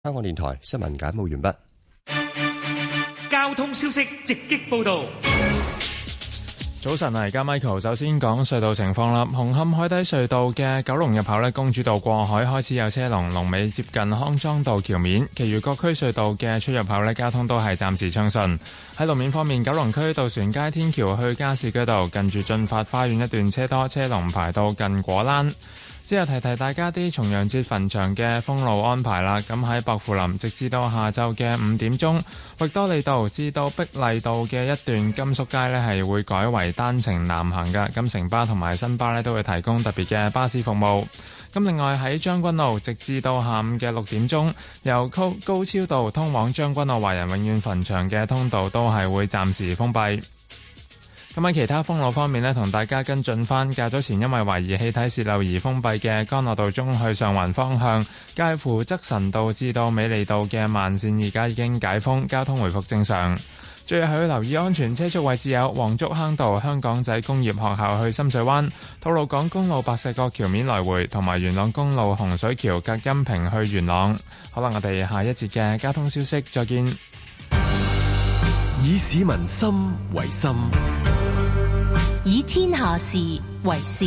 香港電台新聞簡報完畢。 交通消息直擊報道。 早晨啊，而家 Michael 首先講隧道情況啦。紅磡海底隧道嘅九龍入口呢，公主道過海開始有車龍，龍尾接近康莊道橋面。其餘各區隧道嘅出入口呢，交通都係暫時暢順。喺路面方面，九龍區渡船街天橋去加士居道近住駿發花園一段車多，車龍排到近果欄。之後提大家啲重陽節墳場嘅封路安排啦。咁喺薄扶林，直至到下晝嘅5點鐘，域多利道至到碧麗道嘅一段金粟街呢係會改為單程南行嘅。咁城巴同埋新巴呢都會提供特別嘅巴士服務。咁另外喺將軍澳，直至到下午嘅6點鐘，由高超道通往將軍澳華人永遠墳場嘅通道都係會暫時封閉。咁喺其他封路方面呢，同大家跟進返較早前因為懷疑氣體洩漏而封閉嘅干諾道中去上環方向，介乎則臣道至到美利道嘅慢線而家已經解封，交通回復正常。最後要留意安全車速位置有黃竹坑道香港仔工業學校去深水灣、吐露港公路白石角橋面來回，同埋元朗公路洪水橋隔音屏去元朗。好啦，我哋下一節嘅交通消息再見。 以市民心為心， 以天下事為事。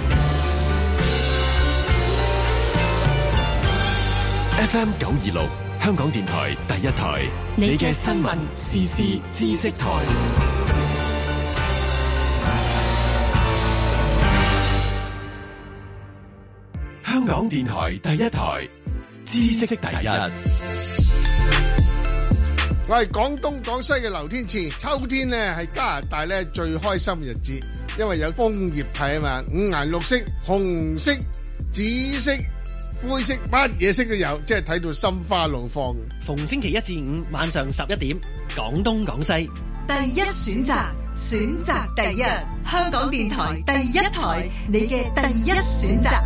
FM 926香港電台第一台，你嘅新聞時事知識台。香港電台第一台，知識第一。 我係廣東廣西嘅劉天賜。秋天呢係加拿大呢最開心嘅日子，因為有楓葉睇啊嘛，五顏六色，紅色、紫色、灰色，乜嘢色都有，即係睇到心花怒放。 逢星期1至5晚上11點，廣東廣西第一選擇，選擇第一，香港電台第一台，你嘅第一選擇。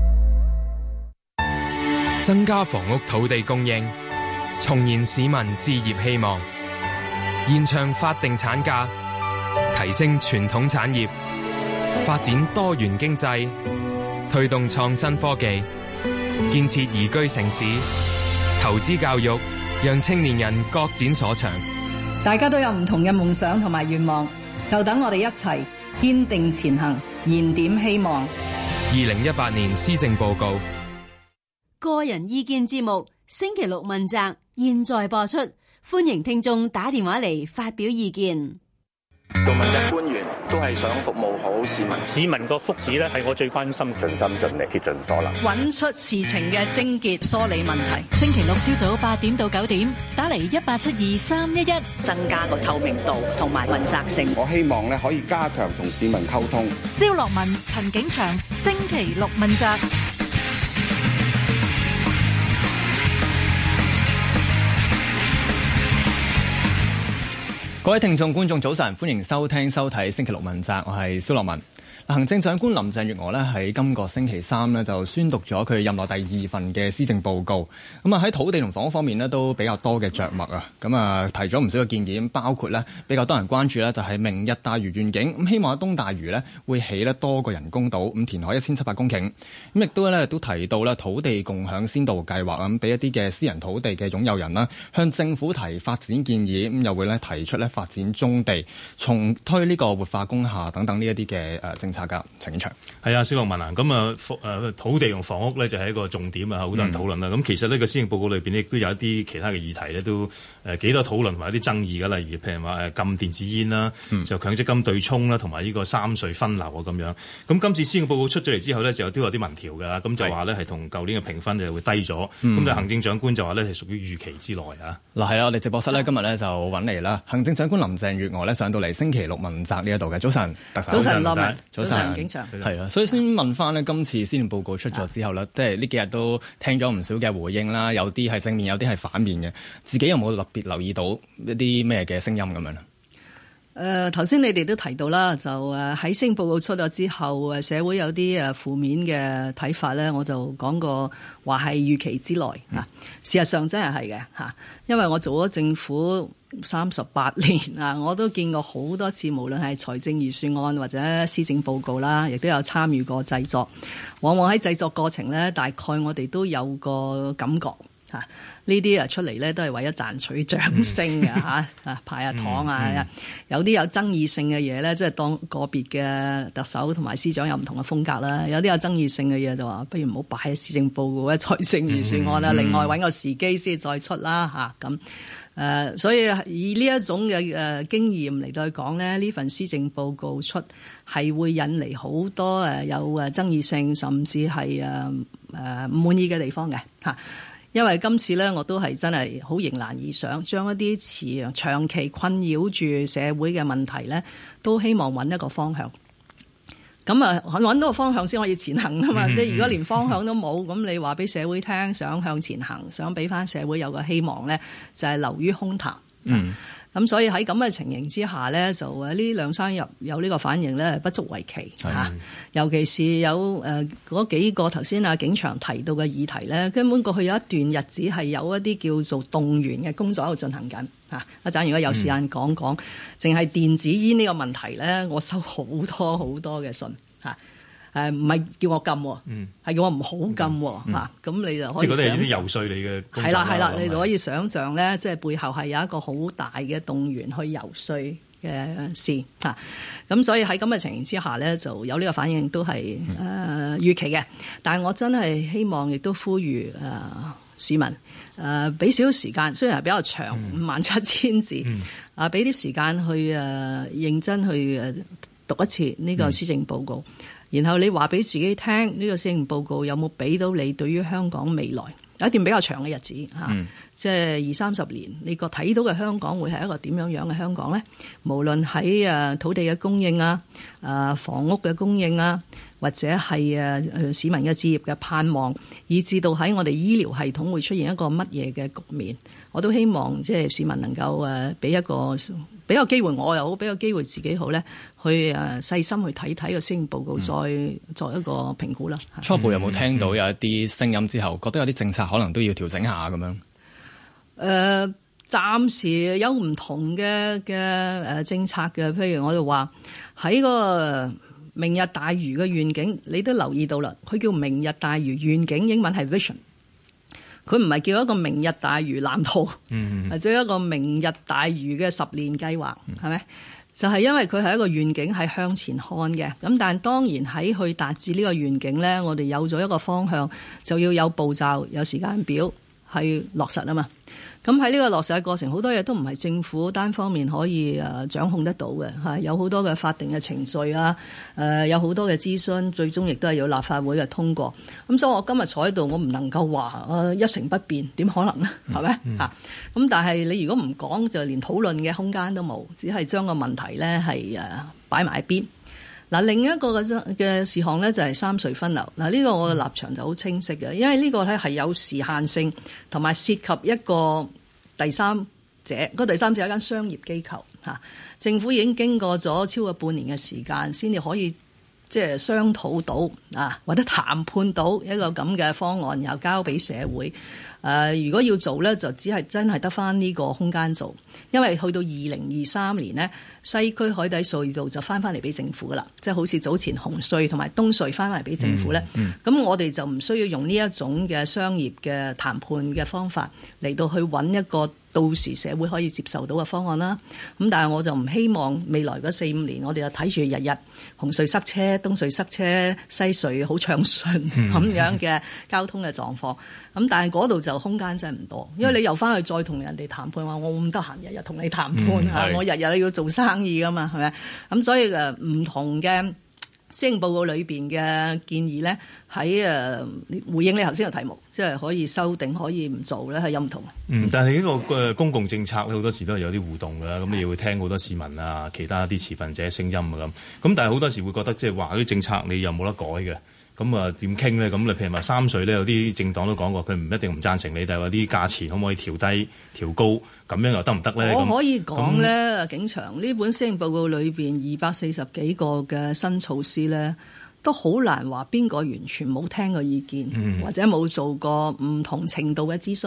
增加房屋土地供應，重燃市民置業希望，延長法定產假，提升傳統產業，發展多元經濟，推動創新科技，建設宜居城市，投資教育，讓青年人各展所長。 大家都有唔同嘅夢想同埋願望，就等我哋一齊堅定前行，燃點希望。 2018年施政報告。 個人意見節目星期六問責，現在播出，歡迎聽眾打電話嚟發表意見。 做問責官員都係想服務好市民， 市民個福祉咧係我最關心， 盡心盡力竭盡所能， 揾出事情嘅症結，梳理問題。 星期六朝早8點到9點，打嚟1872-311， 增加個透明度同埋問責性。 我希望咧可以加強同市民溝通。 蕭樂文、陳景祥，星期六問責。 各位聽眾觀眾早晨，歡迎收聽收睇星期六問責，我係蕭樂文。行政長官林鄭月娥呢喺今個星期三呢就宣讀咗佢任內第2份嘅施政報告。咁啊喺土地同房屋方面呢都比較多嘅着墨啊。咁啊提咗唔少嘅建議，包括呢比較多人關注呢就係明日大嶼願景。咁希望喺東大嶼呢會起呢多個人工島，咁填海1700公頃。咁亦都提到呢土地共享先導計劃，咁俾一啲嘅私人土地嘅擁有人啦，向政府提發展建議。咁又會呢提出呢發展棕地，重推呢個活化工廈等等呢一啲嘅政策。陳景祥係啊，蕭樂文啊，咁啊土地同房屋咧就係一個重點啊，好多人討論啦。咁其實呢個施政報告裏邊亦都有一啲其他嘅議題咧，都幾多討論同埋一啲爭議嘅，例如譬如話禁電子煙啦，就強積金對沖啦，同埋呢個三隧分流啊咁樣。咁今次施政報告出咗嚟之後呢，就都有啲民調㗎，咁就話呢係同舊年嘅評分就會低咗。咁但係行政長官就話呢係屬於預期之內啊。 嗱係啦，我哋直播室呢今日呢就揾嚟啦，行政長官林鄭月娥呢上到嚟星期六問責呢一度嘅。早晨，特首。 早晨，樂文。 早晨。係啦，所以先問翻呢今次施政報告出咗之後呢，即係呢幾日都聽咗唔少嘅回應啦，有啲係正面，有啲係反面嘅。自己有冇特別留意到一啲咩嘅聲音咁樣咧？ 頭先你哋都提到啦，就喺施政報告出咗之後，社會有啲負面嘅睇法咧，我就講過話係預期之內嚇。事實上真係嘅嚇，因為我做咗政府38年啊，我都見過好多次，無論係財政預算案或者施政報告啦，亦都有參與過製作。往往喺製作過程咧，大概我哋都有個感覺， 呢啲出嚟咧都係為咗賺取掌聲嘅派下糖啊，有啲有爭議性嘅嘢咧，即係當個別嘅特首同埋司長有唔同嘅風格啦。有啲有爭議性嘅嘢就話，不如唔好擺喺施政報告、財政預算案啦，另外揾個時機先再出啦咁。所以以呢一種嘅經驗嚟到去講咧，呢份施政報告出係會引嚟好多有爭議性，甚至係唔滿意嘅地方嘅嚇。因為今次咧，我都係真係好迎難而上，將一啲長期困擾住社會嘅問題咧，都希望揾一個方向。咁揾到個方向先可以前行啊嘛！即係如果連方向都冇，咁你話俾社會聽，想向前行，想俾翻社會有個希望咧，就係流於空談。咁所以喺咁嘅情形之下咧，就呢2-3日有呢個反應咧，不足為奇嚇。尤其是有嗰幾個頭先景祥提到嘅議題咧，根本過去有一段日子係有一啲叫做動員嘅工作喺度進行緊嚇。一陣如果有時間講講，淨係電子煙呢個問題咧，我收好多嘅信嚇。唔係叫我禁，係叫我唔好禁嚇。咁你就可以即係嗰啲係啲游說你嘅工作。係啦，你就可以想像咧，即係背後係有一個好大嘅動員去游說嘅事嚇。咁所以喺咁嘅情形之下咧，就有呢個反應都係預期嘅。但係我真係希望亦都呼籲市民俾少少時間，雖然係比較長57000字，俾啲時間去認真去讀一次呢個施政報告。然後你話俾自己聽，呢個施政報告有冇俾到你對於香港未來有一段比較長嘅日子即係20-30年，你個睇到嘅香港會係一個點樣嘅香港呢？無論喺土地嘅供應房屋嘅供應或者係市民嘅置業嘅盼望，以至到喺我哋醫療系統會出現一個乜嘢嘅局面，我都希望即係市民能夠俾個機會我又好，俾個機會自己好咧，去細心去睇睇個施政報告，再作一個評估啦。 初步有冇聽到有一啲聲音之後，覺得有啲政策可能都要調整下咁樣？ 暫時有唔同嘅政策嘅，譬如我就話喺個明日大嶼嘅願景，你都留意到啦，佢叫明日大嶼願景，英文係 vision。佢唔係叫一個明日大嶼藍圖，或者一個明日大嶼嘅10年計劃，係咪？就係因為佢係一個願景，係向前看嘅。咁但係當然喺去達至呢個願景咧，我哋有咗一個方向，就要有步驟、有時間表係落實啊嘛。咁喺呢個落實嘅過程，好多嘢都唔係政府單方面可以掌控得到嘅，有好多嘅法定嘅程序有好多嘅諮詢，最終亦都係有立法會嘅通過。咁所以我今日坐喺度，我唔能夠話一成不變，點可能呢？係咪咁但係你如果唔講，就連討論嘅空間都冇，只係將個問題咧係擺埋一邊。另一個嘅事項咧就係三隧分流。呢個我嘅立場就好清晰嘅，因為呢個咧係有時限性，同埋涉及一個第三者。個第三者係一間商業機構政府已經經過咗超過半年嘅時間，先至可以即係商討到或者談判到一個咁嘅方案，然後交俾社會。如果要做咧，就只係真係得翻呢個空間做，因為去到2023年呢，西區海底隧道就翻嚟俾政府噶啦，即係好似早前紅隧同埋東隧翻嚟俾政府咧。咁我哋就唔需要用呢一種嘅商業嘅談判嘅方法嚟到去揾一個到時社會可以接受到嘅方案啦。咁但係我就唔希望未來嗰4-5年我哋就睇住日日紅隧塞車、東隧塞車、西隧好暢順咁樣嘅交通嘅狀況。咁但係嗰度就空間真係唔多，因為你又翻去再同人哋談判話，我唔得閒日日同你談判我日日要做生意噶嘛，係咪？咁所以唔同嘅施政報告裏邊嘅建議咧，喺回應你頭先嘅題目，即係可以修訂，可以唔做咧，係有唔同。 但係呢個公共政策咧，好多時都係有啲互動㗎啦。咁你會聽好多市民其他啲持份者聲音咁。但係好多時會覺得即係話啲政策你又冇得改嘅。咁點傾咧？咁你譬如話三隧咧，有啲政黨都講過，佢唔一定唔贊成你，但係話啲價錢可唔可以調低、調高，咁樣又得唔得咧？ 我可以講咧，景祥呢本施政報告裏邊240幾個嘅新措施咧，都好難話邊個完全冇聽過意見，或者冇做過唔同程度嘅諮詢。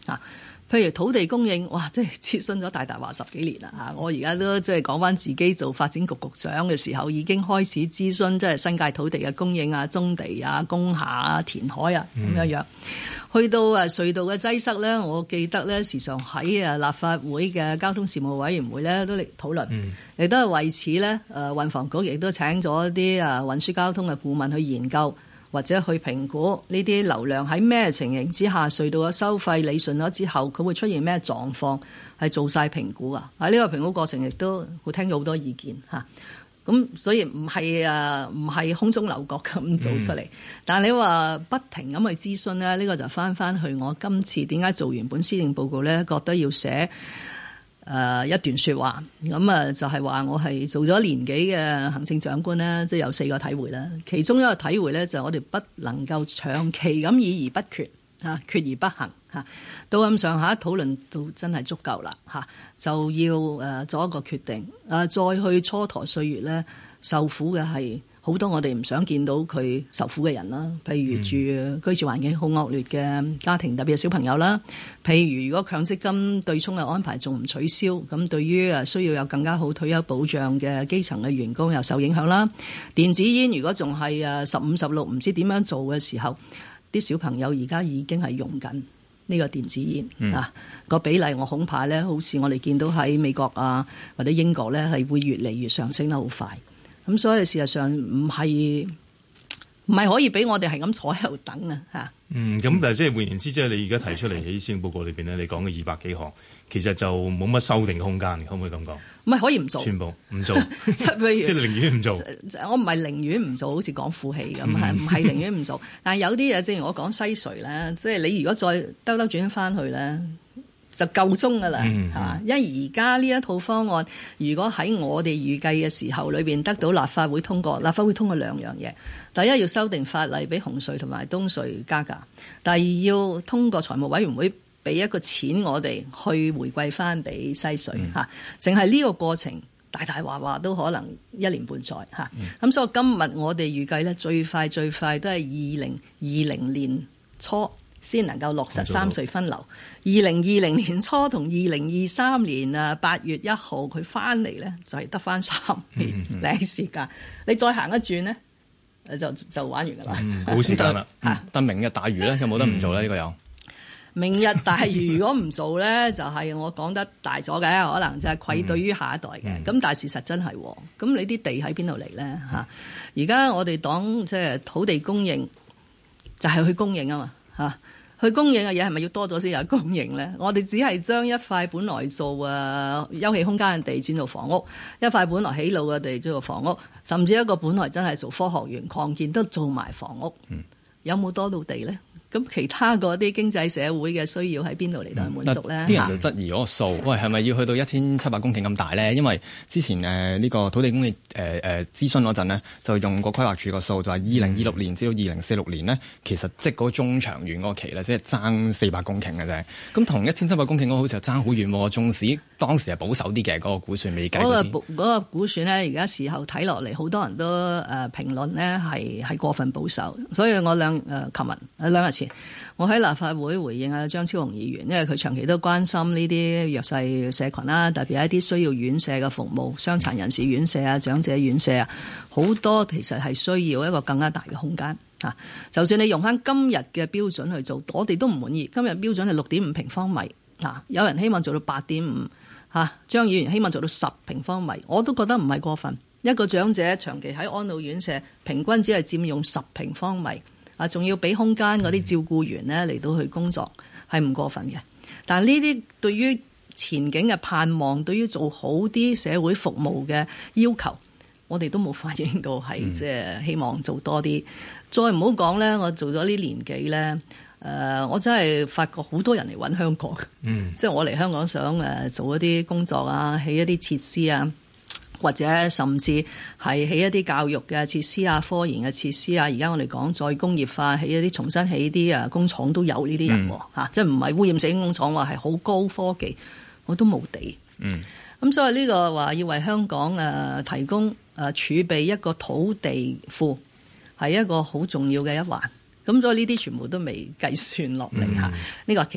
譬如土地供應，哇！即係諮詢咗大話10幾年啦嚇。我而家都即係講翻自己做發展局局長嘅時候，已經開始諮詢即係新界土地嘅供應啊、棕地啊、工廈啊、填海啊咁樣。去到隧道嘅擠塞咧，我記得咧時常喺立法會嘅交通事務委員會咧都嚟討論，亦都係為此咧運房局亦都請咗啲運輸交通嘅顧問去研究，或者去評估呢啲流量喺咩情形之下，隧道嘅收費理順咗之後，佢會出現咩狀況，係做晒評估啊！喺呢個評估過程亦都會聽咗好多意見嚇。咁所以唔係空中樓閣咁做出嚟，但係你話不停咁去諮詢咧，呢個就翻去我今次點解做完本施政報告咧，覺得要寫一段說話，咁就係話我係做咗年幾嘅行政長官咧，即係有4個體會啦。其中一個體會咧就係我哋不能夠長期咁議而不決嚇，決而不行嚇，到咁上下討論到真係足夠啦嚇，就要做一個決定，再去蹉跎歲月咧，受苦嘅係好多我哋唔想見到佢受苦嘅人啦，譬如居住環境好惡劣嘅家庭，特別係小朋友啦。譬如如果強積金對沖嘅安排仲唔取消，咁對於需要有更加好退休保障嘅基層嘅員工又受影響啦。電子煙如果仲係15、16唔知點樣做嘅時候，啲小朋友而家已經係用緊呢個電子煙啊，個比例我恐怕咧，好似我哋見到喺美國啊或者英國咧，係會越嚟越上升得好快。咁所以事實上唔係可以俾我哋係咁坐喺度等啊嚇。 咁但係即係換言之，即係你而家提出嚟喺施政報告裏邊咧，你講嘅200幾項，其實就冇乜修訂空間，可唔可以咁講？ 唔係可以唔做， 全部唔做，即係寧願唔做。 我唔係寧願唔做，好似講負氣咁，唔係寧願唔做。但係有啲嘢，正如我講西隧咧，即係你如果再兜轉翻去咧，就夠鐘㗎啦，係嘛？因為而家呢一套方案，如果喺我哋預計嘅時候裏邊得到立法會通過，立法會通過2樣嘢。第一要修訂法例，俾紅隧同埋東隧加價；第二要通過財務委員會俾一個錢我哋去回饋翻俾西隧嚇。淨係呢個過程大話都可能1年半載嚇。咁所以今日我哋預計咧，最快都係2020年初先能夠落實3隧分流。2020年初同2023年8月1號佢翻嚟咧，就係得翻3年零時間。你再行一轉咧，就玩完㗎啦。 冇時間啦。 但明日大嶼咧有冇得唔做咧？呢個有。 明日大嶼如果唔做咧，就係我講得大咗嘅，可能就係愧對於下一代嘅。咁但係事實真係，咁你啲地喺邊度嚟咧嚇？而家我哋講即係土地供應，就係去供應啊嘛嚇。去供應嘅嘢係咪要多咗先有供應咧？我哋只係將一塊本來做休憩空間嘅地轉做房屋，一塊本來起路嘅地轉做房屋，甚至一個本來真係做科學園擴建都做埋房屋，有冇多到地咧？咁其他嗰啲經濟社會嘅需要喺邊度嚟到滿足咧？ 啲人就質疑嗰個數，喂係咪要去到1700公頃咁大咧？因為之前呢個土地供應諮詢嗰陣呢，就用個規劃署個數，就話2026年至到2046年呢，其實即係嗰個中長遠嗰個期咧，即係爭400公頃嘅啫。咁同1700公頃嗰個好似又爭好遠喎。縱使當時係保守啲嘅嗰個估算未計嗰個估算咧，而家時候睇落嚟，好多人都評論咧係過分保守，所以我琴日2日前。我喺立法會回應張超雄議員，因為佢長期都關心呢啲弱勢社群啦，特別係一啲需要院舍嘅服務，傷殘人士院舍啊、長者院舍啊，好多其實係需要一個更加大嘅空間嚇。就算你用翻今日嘅標準去做，我哋都唔滿意。今日標準係6.5平方米嚇，有人希望做到8.5嚇，張議員希望做到10平方米，我都覺得唔係過分。一個長者長期喺安老院舍，平均只係佔用10平方米。仲要俾空間嗰啲照顧員咧嚟到去工作，係唔過分嘅。但係呢啲對於前景嘅盼望，對於做好啲社會服務嘅要求，我哋都冇反映到係即係希望做多啲。再唔好講咧，我做咗呢年幾咧，我真係發覺好多人嚟揾香港，即係我嚟香港想做一啲工作啊，起一啲設施啊。或者甚至係起一啲教育嘅設施啊、科研嘅設施啊，而家我哋講再工業化，起一啲重新起啲工廠都有呢啲人喎，即係唔係污染性工廠，話係好高科技，我都冇地。咁所以呢個話要為香港提供儲備一個土地庫，係一個好重要嘅一環。咁所以呢啲全部都未計算落嚟嚇，呢個係其一。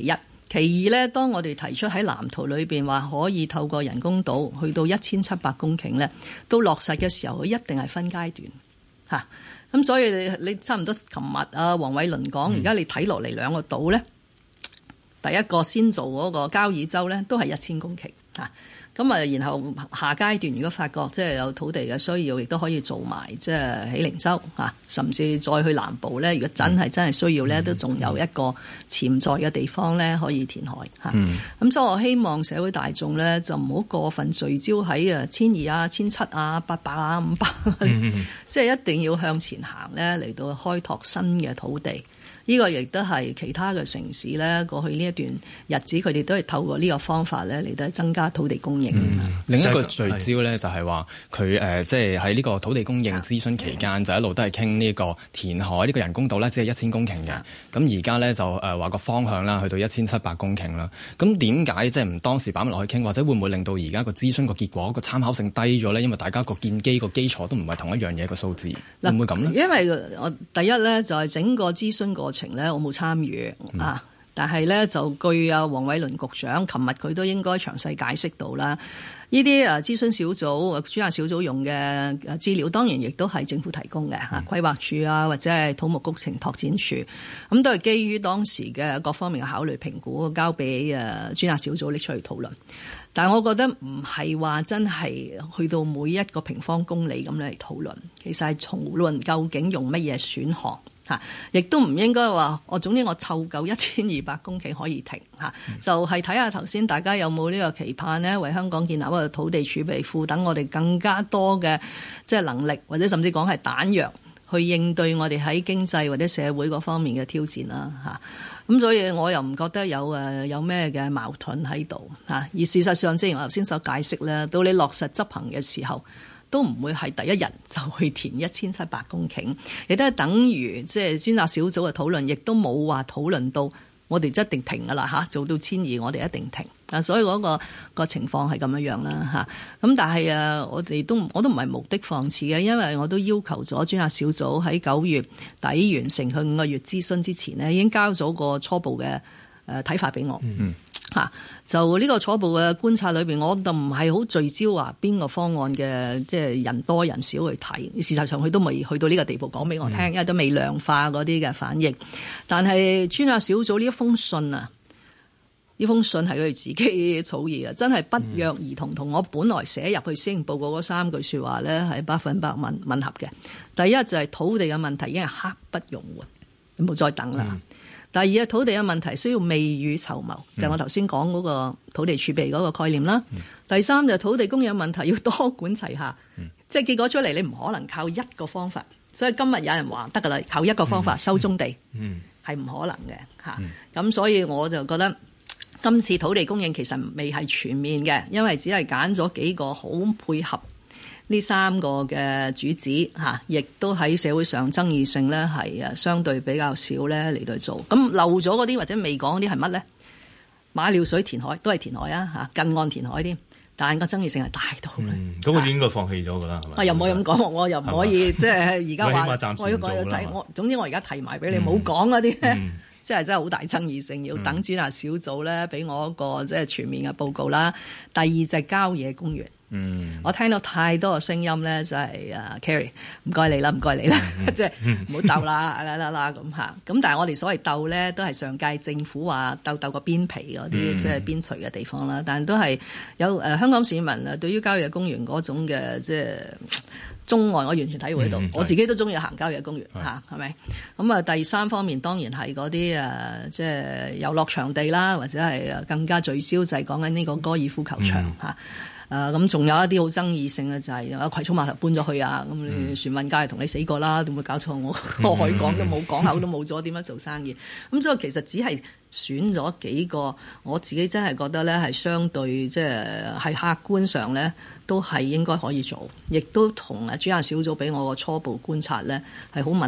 其二咧，當我哋提出喺藍圖裏邊話可以透過人工島去到1700公頃咧，到落實嘅時候，佢一定係分階段嚇。咁所以你差唔多琴日啊，黃偉綸講，而家你睇落嚟兩個島咧，第一個先做嗰個交椅洲咧，都係1000公頃嚇。咁啊，然後下階段如果發覺即係有土地嘅需要，亦都可以做埋即係喜靈洲嚇，甚至再去南部咧。如果真係需要咧，都仲有一個潛在嘅地方咧可以填海嚇。咁所以我希望社會大眾咧就唔好過分聚焦喺1200啊、1700啊、800啊、500，即係一定要向前行咧，嚟到開拓新嘅土地。呢個亦都係其他嘅城市咧，過去呢一段日子，佢哋都係透過呢個方法咧嚟到增加土地供應。 另一個聚焦咧就係話佢即係喺呢個土地供應諮詢期間，就一路都係傾呢個填海呢個人工島咧，只係1000公頃嘅。咁而家咧就話個方向啦，去到1700公頃啦。咁點解即係唔當時擺埋落去傾，或者會唔會令到而家個諮詢個結果個參考性低咗咧？因為大家個建基個基礎都唔係同一樣嘢個數字，會唔會咁咧？ 因為我第一咧就係整個諮詢過程咧，我冇參與啊，但係咧就據啊黃偉綸局長琴日佢都應該詳細解釋到啦。呢啲諮詢小組專責小組用嘅資料，當然亦都係政府提供嘅嚇，規劃署啊或者係土木工程拓展署，咁都係基於當時嘅各方面嘅考慮評估，交俾專責小組拎出去討論。但係我覺得唔係話真係去到每一個平方公里咁嚟討論，其實係討論究竟用乜嘢選項。亦都唔應該話總之我湊夠1200公頃可以停就係睇下頭先大家有冇呢個期盼呢？為香港建立一個土地儲備庫，等我哋更加多嘅即係能力，或者甚至講係彈藥，去應對我哋喺經濟或者社會嗰方面嘅挑戰啦咁所以我又唔覺得有咩嘅矛盾喺度而事實上，正如我頭先所解釋咧，到你落實執行嘅時候，都唔會係第一日就去填1700公頃，亦都係等於即係專責小組嘅討論，亦都冇話討論到我哋一定停㗎啦做到1200我哋一定停所以嗰個情況係咁樣啦咁但係我都唔係無的放矢嘅，因為我都要求咗專責小組喺9月底完成佢5個月諮詢之前呢，已經交咗個初步嘅睇法俾我。就呢個初步嘅觀察裏邊，我就唔係好聚焦話邊個方案嘅即係人多人少去睇。事實上佢都未去到呢個地步講俾我聽，因為都未量化嗰啲嘅反應。但係專責小組呢一封信啊，呢封信係佢哋自己草擬嘅，真係不約而同同我本來寫入去施政報告嗰3句說話咧係100%吻合嘅。第一就係土地嘅問題已經係刻不容緩，你冇再等啦。第二，土地嘅問題需要未雨綢繆，就係我頭先講嗰個土地儲備嗰個概念啦。第三就土地供應問題要多管齊下，即係結果出嚟你唔可能靠一個方法。所以今日有人話得㗎啦，靠一個方法收棕地係唔可能嘅咁所以我就覺得今次土地供應其實未係全面嘅，因為只係揀咗幾個好配合呢3個嘅主旨亦都喺社會上爭議性咧係相對比較少咧嚟到做。咁漏咗嗰啲或者未講嗰啲係乜咧？馬料水填海都係填海近岸填海添，但係個爭議性係大到咧。 咁我哋應該放棄咗㗎啦，係咪？ 又唔可以咁講，我又唔可以即係而家話我要睇總之我而家提埋俾你，冇講嗰啲咧，即係真係好大爭議性，要等專責小組咧俾我一個即係全面嘅報告啦。第二就係郊野公園。我聽到太多嘅聲音咧，就係Carrie 唔該你啦，唔該你啦，即係唔好鬥啦啦咁嚇。咁但係我哋所謂鬥咧，都係上屆政府話鬥個邊皮嗰啲，即係邊陲嘅地方啦。但係都係有香港市民啊，對於郊野公園嗰種嘅即係鍾愛，我完全體會到。我自己都中意行郊野公園係咪？咁第三方面當然係嗰啲即係遊樂場地啦，或者係更加聚焦就係講緊呢個高爾夫球場咁仲有一啲好爭議性嘅就係葵涌碼頭搬咗去咁你船運界同你死過啦，點會搞錯我海港都冇，港口都冇咗，點樣做生意？咁所以其實只係選咗幾個，我自己真係覺得咧係相對即係客觀上咧都係應該可以做，亦都同專責小組俾我個初步觀察咧係好吻合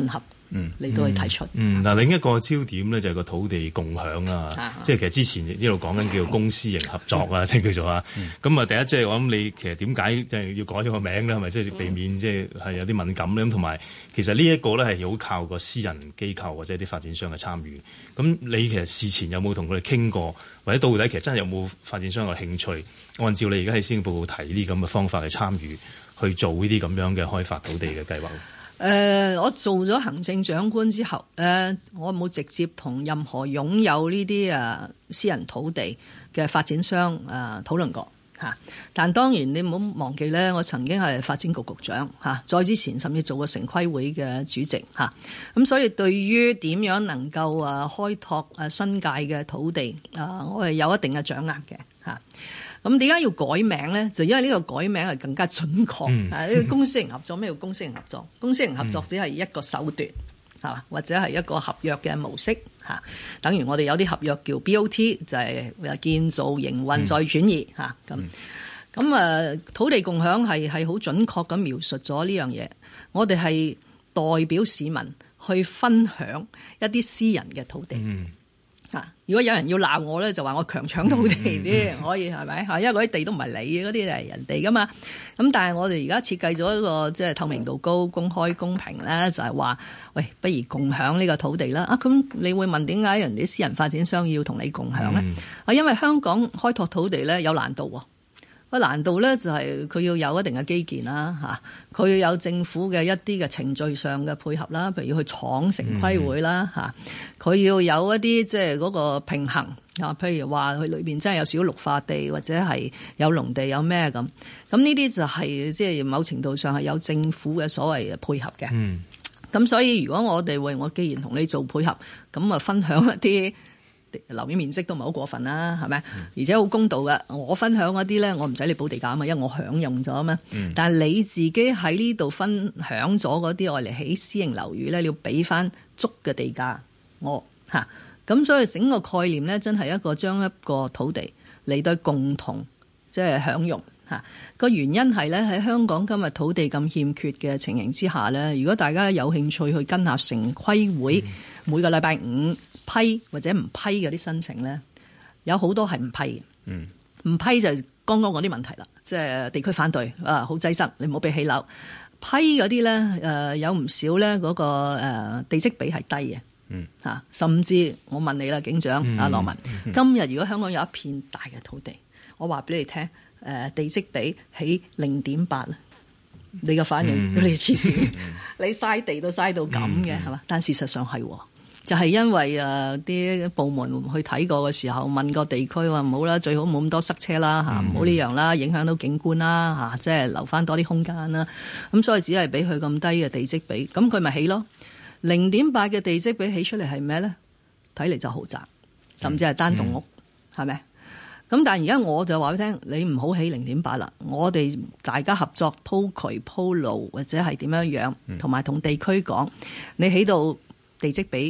嚟到去提出。 嗱，另一個焦點咧就係個土地共享啦，即係其實之前一路講緊叫公私營合作啊，即係叫做啊。咁啊，第一即係我諗你其實點解即係要改咗個名咧？係咪即係避免即係有啲敏感咧？咁同埋其實呢一個咧係好靠個私人機構或者啲發展商嘅參與。咁你其實事前有冇同佢哋傾過，或者到底其實真係有冇發展商嘅興趣，按照你而家喺施政報告提呢啲咁嘅方法去參與去做呢啲咁樣嘅開發土地嘅計劃？ 我做咗行政長官之後，我冇直接同任何擁有呢啲私人土地嘅發展商討論過嚇。但當然你唔好忘記咧，我曾經係發展局局長嚇，再之前甚至做過城規會嘅主席嚇。咁所以對於點樣能夠開拓新界嘅土地我係有一定嘅掌握嘅嚇。咁點解要改名咧？就因為呢個改名係更加準確。呢個公私營合作，咩叫公私營合作？公私營合作只係一個手段，係嘛？或者係一個合約嘅模式嚇。等於我哋有啲合約叫 BOT，就係建造、營運再轉移嚇。咁土地共享係好準確咁描述咗呢樣嘢。我哋係代表市民去分享一啲私人嘅土地。如果有人要鬧我咧，就話我強搶土地啲，可以係咪？因為嗰啲地都唔係你嘅，嗰啲係人哋噶嘛。咁但係我哋而家設計咗一個即係透明度高、公開公平咧，就係話，喂，不如共享呢個土地啦。咁你會問點解人哋私人發展商要同你共享咧？因為香港開拓土地咧有難度喎。個難度咧就係佢要有一定嘅基建啦，佢要有政府嘅一啲嘅程序上嘅配合啦，譬如要去闖城規會啦，佢要有一啲即係嗰個平衡啊，譬如話佢裏邊真係有少綠化地或者係有農地有咩咁，咁呢啲就係即係某程度上係有政府嘅所謂嘅配合嘅。咁所以如果我既然同你做配合，咁啊分享一啲樓面面積都唔係好過分啦，係咪？而且好公道嘅，我分享嗰啲咧，我唔使你補地價啊嘛，因為我享用咗啊嘛。但係你自己喺呢度分享咗嗰啲我嚟起私營樓宇咧，你要俾翻足嘅地價我嚇。咁所以整個概念咧，真係一個將一個土地嚟對共同即係享用嚇。個原因係咧，喺香港今日土地咁欠缺嘅情形之下咧，如果大家有興趣去跟下城規會每個禮拜五批或者唔批嗰啲申請咧，有好多係唔批嘅。唔批就係剛剛嗰啲問題啦，即係地區反對好擠塞，你唔好俾起樓。批嗰啲咧有唔少咧嗰個地積比係低嘅甚至我問你啦，警長阿羅文，今日如果香港有一片大嘅土地，我話俾你聽地積比起 0.8， 你嘅反應你黐線，你嘥地都嘥到咁嘅係嘛？但事實上係就係因為啲部門去睇過嘅時候，問個地區話唔好啦，最好冇咁多塞車啦唔好呢樣啦，影響到景觀啦即係留翻多啲空間啦。咁所以只係俾佢咁低嘅地積比，咁佢咪起咯。0.8 嘅地積比起出嚟係咩咧？睇嚟就豪宅，甚至係單棟屋，係咪？咁但係而家我就話俾你聽，你唔好起 0.8 啦，我哋大家合作鋪渠鋪路或者係點樣樣，同埋同地區講，你起到地積比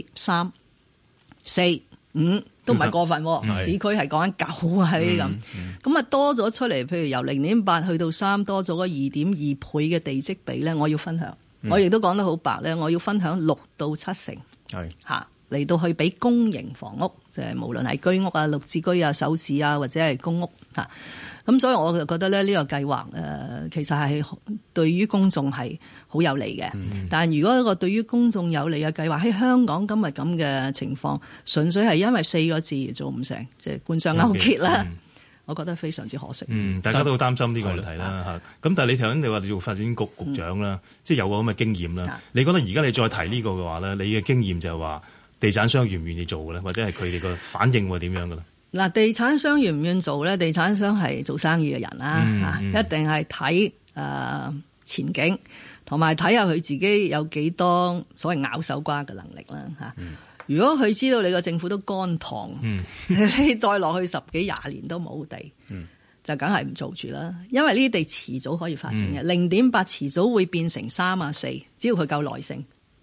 3、4、5都唔係過分，市區係講緊9啊啲咁啊多咗出嚟，譬如由 0.8 去到3，多咗個2.2倍嘅地積比咧，我要分享。我亦都講得好白咧，我要分享6到7成，嚟到去俾公營房屋，即係無論係居屋啊、綠置居啊、首置啊，或者係公屋咁所以我就覺得咧，呢個計劃其實係對於公眾係好有利嘅。但係如果一個對於公眾有利嘅計劃喺香港今日咁嘅情況，純粹係因為4個字而做唔成，即係官商勾結啦。我覺得非常之可惜。 大家都好擔心呢個問題啦咁但係你頭先你話你做發展局局長啦，即係有個咁嘅經驗啦。你覺得而家你再提呢個嘅話咧，你嘅經驗就係話地產商願唔願意做嘅咧，或者係佢哋個反應會點樣嘅咧？嗱，地產商願唔願做咧？地產商係做生意嘅人啦一定係睇前景，同埋睇下佢自己有幾多所謂咬手瓜嘅能力啦如果佢知道你個政府都乾塘，你再落去10幾20年都冇地，就梗係唔做住啦。因為呢啲地遲早可以發展嘅，0.8遲早會變成3啊4，只要佢夠耐性。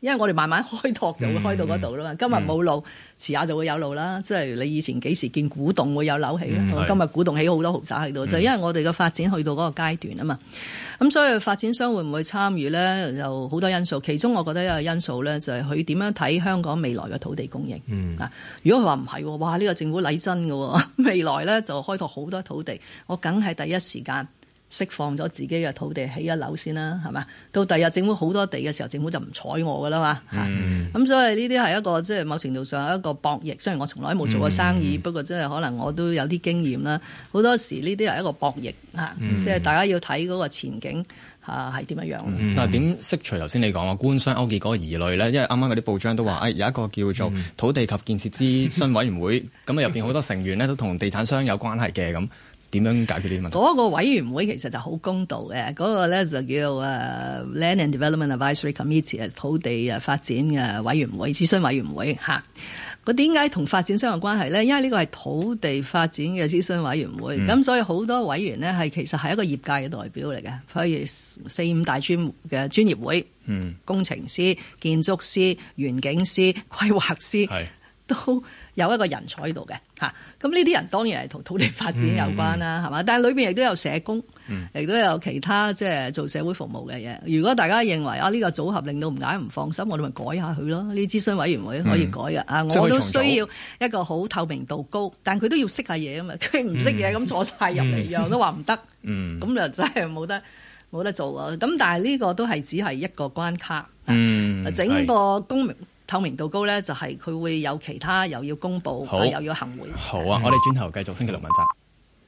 因為我哋慢慢開拓就會開到嗰度啦嘛。今日冇路，遲下就會有路啦。即係你以前幾時見古洞會有樓起咧？今日古洞起好多豪宅喺度，就因為我哋嘅發展去到嗰個階段啊嘛。咁所以發展商會唔會參與咧？有好多因素，其中我覺得一個因素咧就係佢點樣睇香港未來嘅土地供應。如果佢話唔係，哇！呢個政府禮真嘅，未來咧就開拓好多土地，我梗係第一時間釋放咗自己嘅土地起一樓先啦，係嘛？到第日政府好多地嘅時候，政府就唔睬我噶啦嘛。咁所以呢啲係一個即係某程度上係一個博弈。雖然我從來冇做過生意，不過即係可能我都有啲經驗啦。好多時呢啲係一個博弈嚇，即係大家要睇嗰個前景係點樣樣。 嗱，點釋除頭先你講話官商勾結嗰個疑慮咧？因為啱啱嗰啲報章都話，有一個叫做土地及建設諮詢委員會，咁入邊好多成員咧都同地產商有關係嘅咁。點樣解決呢啲問題？嗰個委員會其實就好公道嘅，嗰個咧就叫Land and Development Advisory Committee 土地發展嘅委員會、諮詢委員會嚇。佢點解同發展商有關係咧？因為呢個係土地發展嘅諮詢委員會，咁所以好多委員呢其實係一個業界嘅代表嚟嘅，譬如4-5大專業會，工程師、建築師、園景師、規劃師都有一個人才喺度嘅嚇，咁呢啲人當然係同土地發展有關啦，係嘛？但係裏邊亦都有社工，亦都有其他即係做社會服務嘅嘢。如果大家認為呢個組合令到唔解唔放心，我哋咪改下佢咯。呢啲諮詢委員會可以改嘅我都需要一個好透明度高，但佢都要識下嘢啊嘛。佢唔識嘢咁坐晒入嚟，樣都話唔得，咁就真係冇得做啊。咁但係呢個都係只係一個關卡，整個透明度高咧，就係佢會有其他又要公佈，又要行會。 好啊，我哋轉頭繼續星期六問責。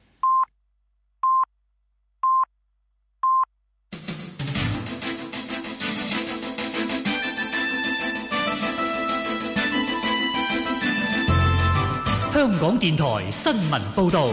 香港電台新聞報導。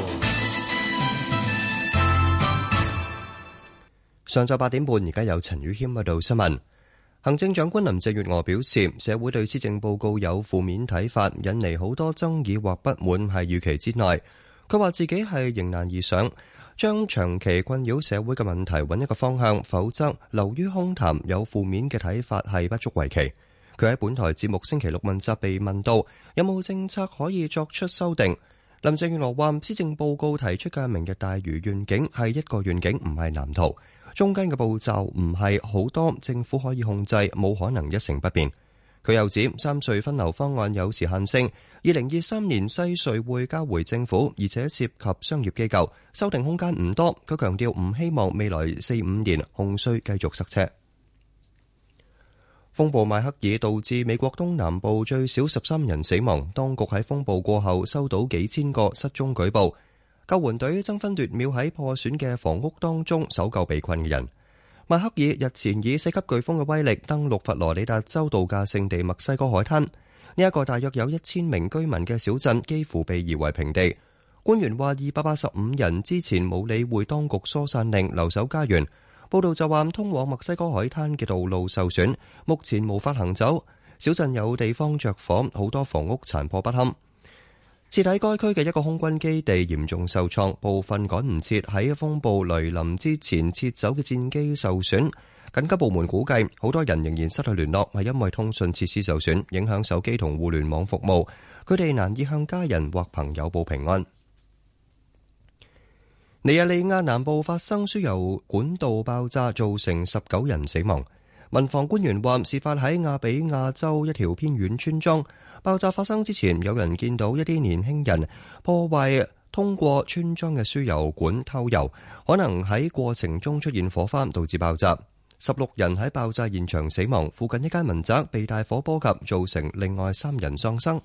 上晝8點半，而家有陳宇謙報道新聞。行政長官林鄭月娥表示，社會對施政報告有負面睇法，引嚟好多爭議或不滿係預期之內。佢話自己係迎難而上，將長期困擾社會嘅問題揾一個方向，否則流於空談，有負面嘅睇法係不足為奇。佢喺本台節目星期六問責被問到有冇政策可以作出修訂，林鄭月娥話施政報告提出嘅明日大嶼願景係一個願景，唔係藍圖。中間嘅步驟唔係好多，政府可以控制，冇可能一成不變。佢又指三隧分流方案有時限性，2023年西隧會交回政府，而且涉及商業機構，修訂空間唔多。佢強調唔希望未來4-5年紅隧繼續塞車。風暴邁克爾導致美國東南部最少13人死亡，當局喺風暴過後收到幾千個失蹤舉報。救援隊爭分奪秒喺破損嘅房屋當中搜救被困嘅人。邁克爾日前以4級颶風嘅威力登陸佛羅里達州度假勝地墨西哥海灘，呢一個大約有1000名居民嘅小鎮幾乎被夷為平地。官員話285人之前冇理會當局疏散令，留守家園。報道就話通往墨西哥海灘嘅道路受損，目前無法行走。小鎮有地方着火，好多房屋殘破不堪。設喺該區嘅一個空軍基地嚴重受創，部分趕唔切喺風暴來臨之前撤走嘅戰機受損。緊急部門估計，好多人仍然失去聯絡，係因為通訊設施受損，影響手機同互聯網服務。佢哋難以向家人或朋友報平安。尼日利亞南部發生輸油管道爆炸，造成19人死亡。民防官員話，事發喺亞比亞州一條偏遠村莊。爆炸發生之前，有人見到一啲年輕人破壞通過村莊嘅輸油管偷油，可能喺過程中出現火花，導致爆炸。16人喺爆炸現場死亡，附近一間民宅被大火波及，造成另外3人喪生。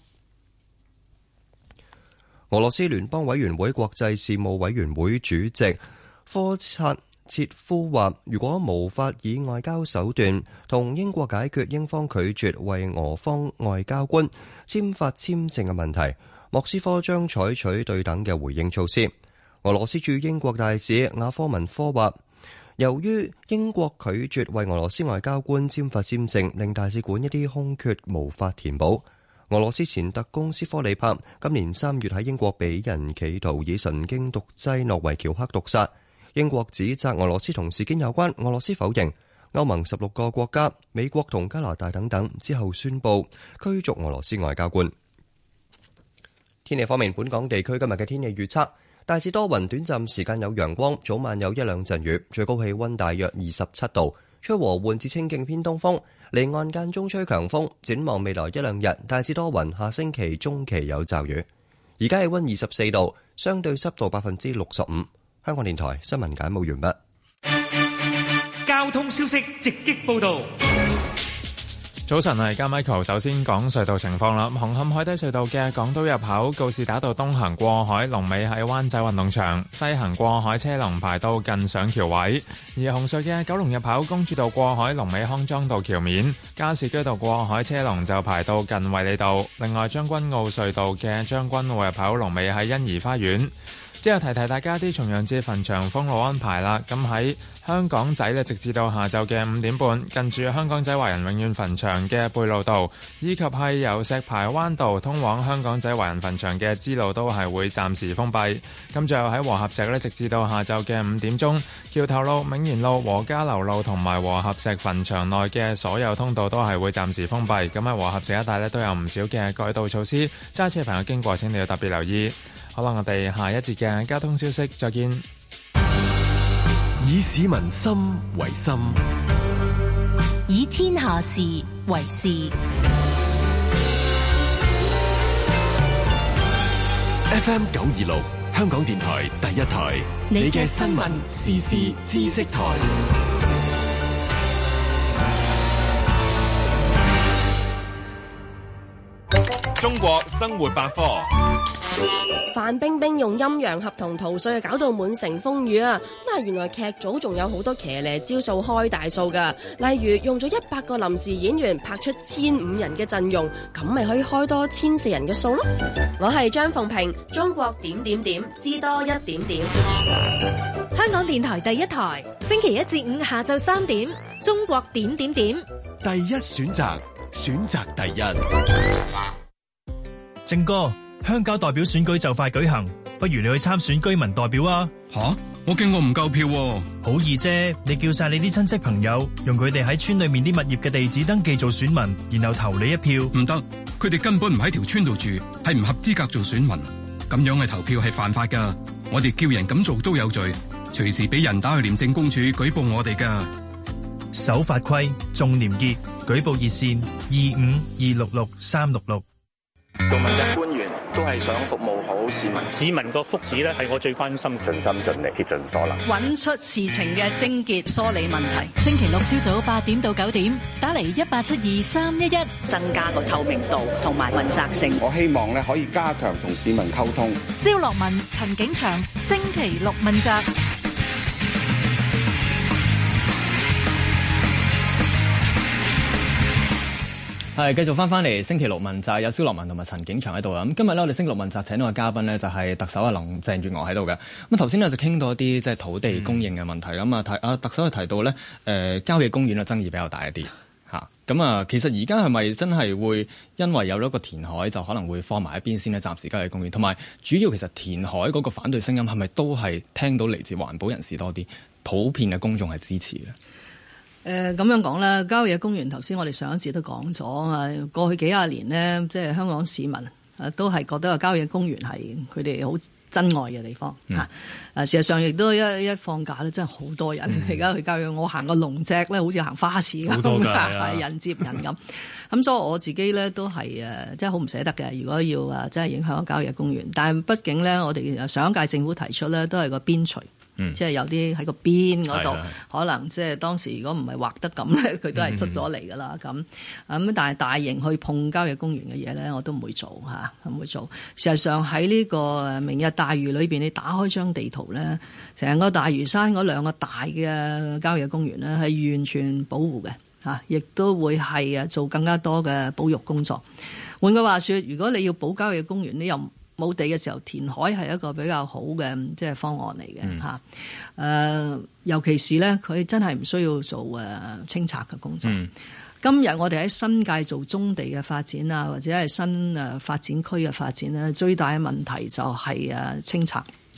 俄羅斯聯邦委員會國際事務委員會主席科察切夫話，如果無法以外交手段同英國解決英方拒絕為俄方外交官簽發簽證嘅問題，莫斯科將採取對等嘅回應措施。俄羅斯駐英國大使亞科文科話，由於英國拒絕為俄羅斯外交官簽發簽證，令大使館一啲空缺無法填補。俄羅斯前特工斯科里帕今年3月喺英國被人企圖以神經毒劑諾維喬克毒殺。英國指責俄羅斯同事件有關，俄羅斯否認。 歐盟16個國家、美國同加拿大等等之後宣布驅逐俄羅斯外交官。天氣方面，本港地區今日嘅天氣預測大致多雲，短暫時間有陽光，早晚有一兩陣雨，最高氣溫大約27度，吹和緩至清勁偏東風，離岸間中吹強風。展望未來一兩日，大致多雲，下星期中期有驟雨。而家氣溫24度，相對濕度65%。香港電台新聞簡報完畢。 交通消息直擊報道。 早晨，係加 Michael。首先講隧道情況啦。紅磡海底隧道嘅港島入口告士打道東行過海，龍尾喺灣仔運動場；西行過海車龍排到近上橋位。而紅隧嘅九龍入口公主道過海，龍尾康莊道橋面；加士居道過海車龍就排到近衛理道。另外，將軍澳隧道嘅將軍澳入口龍尾喺欣怡花園。之後提提大家啲重陽節墳場封路安排啦。咁喺香港仔呢，直至到下晝嘅5點半，近住香港仔華人永遠墳場嘅貝路道，以及係由石排灣道通往香港仔華人墳場嘅支路都係會暫時封閉。咁最後喺和合石呢，直至到下晝嘅5點鐘，橋頭路、銘賢路、和家樓路同埋和合石墳場內嘅所有通道都係會暫時封閉。咁喺和合石一帶呢，都有唔少嘅改道措施，揸車朋友經過請你要特別留意。好啦，我哋下一節嘅交通消息再見。 以市民心為心， 以天下事為事。 FM 926，香港電台第一台，你嘅新聞時事知識台。 中國生活百科。 范冰冰用陰陽合同逃稅，搞到滿城風雨啊！咁原來劇組仲有好多騎呢招數開大數噶，例如用咗100個臨時演員拍出1500人嘅陣容，咁咪可以開多1400人嘅數咯。我係張鳳平，中國點點點，知多一點點。 香港電台第一台，星期1至5下晝3點，中國點點點， 第一選擇，選擇第一。 正哥，鄉郊代表選舉就快舉行，不如你去參選居民代表啊！ 吓，我驚我唔夠票喎。 好易啫，你叫晒你啲親戚朋友，用佢哋喺村裏面啲物業嘅地址登記做選民，然後投你一票。 唔得，佢哋根本唔喺條村度住，係唔合資格做選民。咁樣嘅投票係犯法噶，我哋叫人咁做都有罪，隨時俾人打去廉政公署舉報我哋噶。 守法規，重廉潔，舉報熱線25266366。 做問責官員都係想服務好市民， 市民個福祉咧係我最關心， 盡心盡力，竭盡所能， 揾出事情嘅症結，梳理問題。 星期六朝早8點到9點，打嚟1872-311， 增加個透明度同埋問責性。 我希望咧可以加強同市民溝通。 蕭樂文、陳景祥，星期六問責。 係繼續翻嚟星期六問責，有蕭樂文同埋陳景祥喺度啊！咁今日咧，我哋星期六問責請到嘅嘉賓呢，就係特首林鄭月娥喺度嘅。咁頭先呢，就傾到一啲即係土地供應嘅問題啦。咁特首就提到咧，郊野公園嘅爭議比較大一啲嚇。咁啊，其實而家係咪真係會因為有咗個填海，就可能會放埋一邊先呢？暫時郊野公園同埋主要其實填海嗰個反對聲音係咪都係聽到嚟自環保人士多啲，普遍嘅公眾係支持嘅？ 咁樣講啦，郊野公園頭先我哋上一節都講咗啊，過去幾廿年呢，即係香港市民都係覺得個郊野公園係佢哋好珍愛嘅地方事實上亦都一放假咧，真係好多人而家去郊野。我行個龍脊咧，好似行花市咁，係人接人咁。咁所以我自己咧都係即係好唔捨得嘅。如果要真係影響個郊野公園，但係畢竟咧，我哋上一屆政府提出咧，都係個邊陲。即係有啲喺個邊嗰度，可能即係當時如果唔係畫得咁咧，佢都係出咗嚟㗎啦。咁但係大型去碰郊野公園嘅嘢咧，我都唔會做嚇，唔會做。事實上喺呢個明日大嶼裏邊，你打開張地圖咧，成個大嶼山嗰兩個大嘅郊野公園咧，係完全保護嘅嚇，亦都會係做更加多嘅保育工作。換句話說，如果你要保郊野公園，你又冇地嘅時候，填海係一個比較好嘅即係方案嚟嘅嚇。尤其是咧，佢真係唔需要做清拆嘅工作。今日我哋喺新界做棕地嘅發展啊，或者係新發展區嘅發展咧，最大嘅問題就係清拆。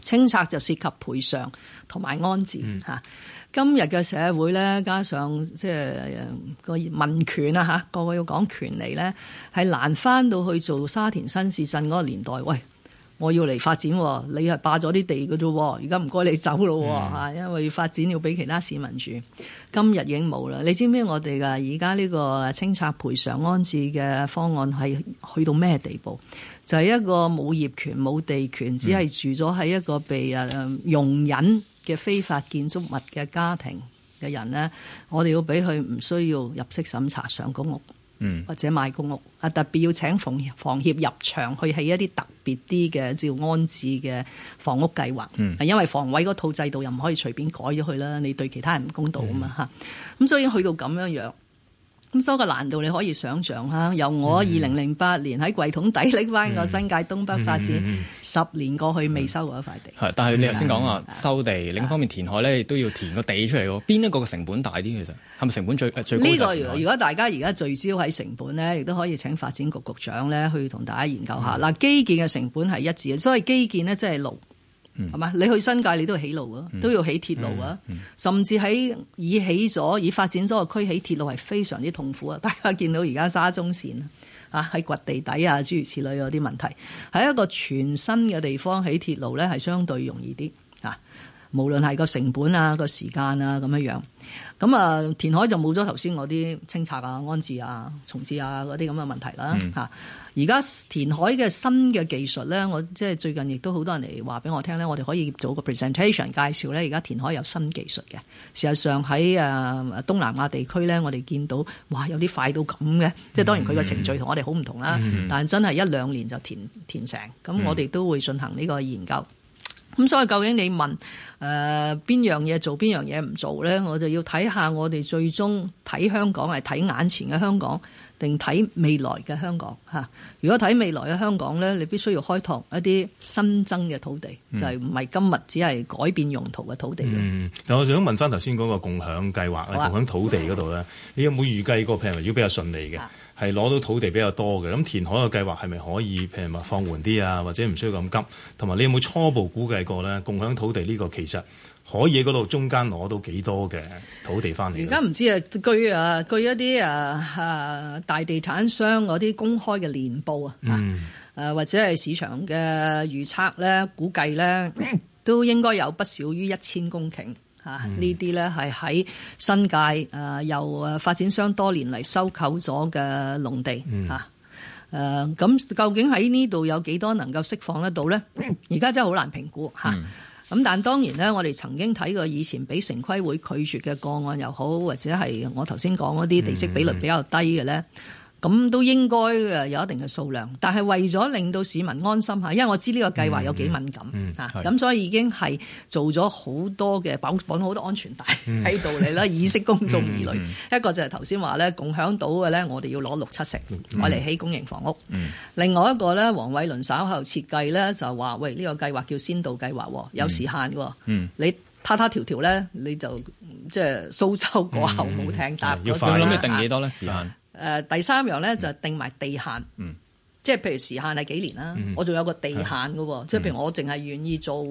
清拆就涉及賠償同埋安置嚇。今日嘅社會咧，加上即係個民權啊嚇，個個要講權利咧，係難翻到去做沙田新市鎮嗰個年代。喂，我要嚟發展，你係霸咗啲地嘅啫，而家唔該你走咯嚇，因為發展要俾其他市民住。今日已經冇啦。你知唔知我哋嘅而家呢個清拆賠償安置嘅方案係去到咩地步？就係一個冇業權冇地權，只係住咗喺一個被容忍嘅非法建築物嘅家庭嘅人呢，我哋要俾佢唔需要入息審查上公屋，或者買公屋，特別要請房協入場去起一啲特別啲嘅照安置嘅房屋計劃，因為房委嗰套制度又唔可以隨便改咗佢啦，你對其他人唔公道啊嘛嚇，咁所以去到咁樣樣。咁所以個難度你可以想象嚇，由我2008年喺櫃桶底拎翻個新界東北發展，10年過去未收過一塊地。 係，但係你頭先講話收地，另一方面填海咧亦都要填個地出嚟喎。邊一個成本大啲？其實係咪成本最高？ 呢個如果大家而家聚焦喺成本咧，亦都可以請發展局局長咧去同大家研究下。嗱，基建嘅成本係一致嘅，所謂基建咧即係路。係嘛？你去新界你都要起路啊，都要起鐵路啊，甚至喺已發展咗個區起鐵路係非常之痛苦啊！大家見到而家沙中線啊，喺掘地底啊，諸如此類嗰啲問題，喺一個全新嘅地方起鐵路咧，係相對容易啲啊。無論係個成本啊、個時間啊咁樣樣，咁啊填海就冇咗頭先嗰啲清拆啊、安置啊、重置啊嗰啲咁嘅問題啦嚇。而家填海嘅新嘅技術咧，我即係最近亦都好多人嚟話俾我聽咧，我哋可以做個 presentation 介紹咧。而家填海有新技術嘅，事實上喺東南亞地區咧，我哋見到哇有啲快到咁嘅，即係當然佢個程序同我哋好唔同啦，但係真係1-2年就填成，咁我哋都會進行呢個研究。咁所以究竟你問邊樣嘢做，邊樣嘢唔做咧？我就要睇下我哋最終睇香港係睇眼前嘅香港，定睇未來嘅香港嚇。如果睇未來嘅香港咧，你必須要開拓一啲新增嘅土地，就係唔係今日只係改變用途嘅土地。 但我想問翻頭先嗰個共享計劃咧，共享土地嗰度咧，你有冇預計過譬如如果比較順利嘅？係攞到土地比較多嘅，咁填海嘅計劃係咪可以譬如話放緩啲啊，或者唔需要咁急？同埋你有冇初步估計過咧？共享土地呢個其實可以喺嗰度中間攞到幾多嘅土地翻嚟？ 而家唔知啊，據一啲大地產商嗰啲公開嘅年報或者係市場嘅預測咧，估計咧都應該有不少於1000公頃。呢啲咧係喺新界由發展商多年嚟收購咗嘅農地咁究竟喺呢度有幾多能夠釋放得到咧？而家真係好難評估咁但當然咧，我哋曾經睇過以前俾城規會拒絕嘅個案又好，或者係我頭先講嗰啲地積比率比較低嘅咧。咁都應該有一定嘅數量，但係為咗令到市民安心下，因為我知呢個計劃有幾敏感咁所以已經係做咗好多嘅綁好多安全帶喺度嚟啦，以釋公眾疑慮。一個就係頭先話咧，共享到嘅咧，我哋要攞6-7成攞嚟起公營房屋。另外一個咧，黃偉綸稍後設計咧就話，喂，呢個計劃叫先導計劃，有時限喎。你他條咧，你就即係蘇州過後冇艇搭。 要快諗，定幾多咧時限？ 第三樣咧就定埋地限，即係譬如時限係幾年啦，我仲有個地限嘅，即係譬如我淨係願意做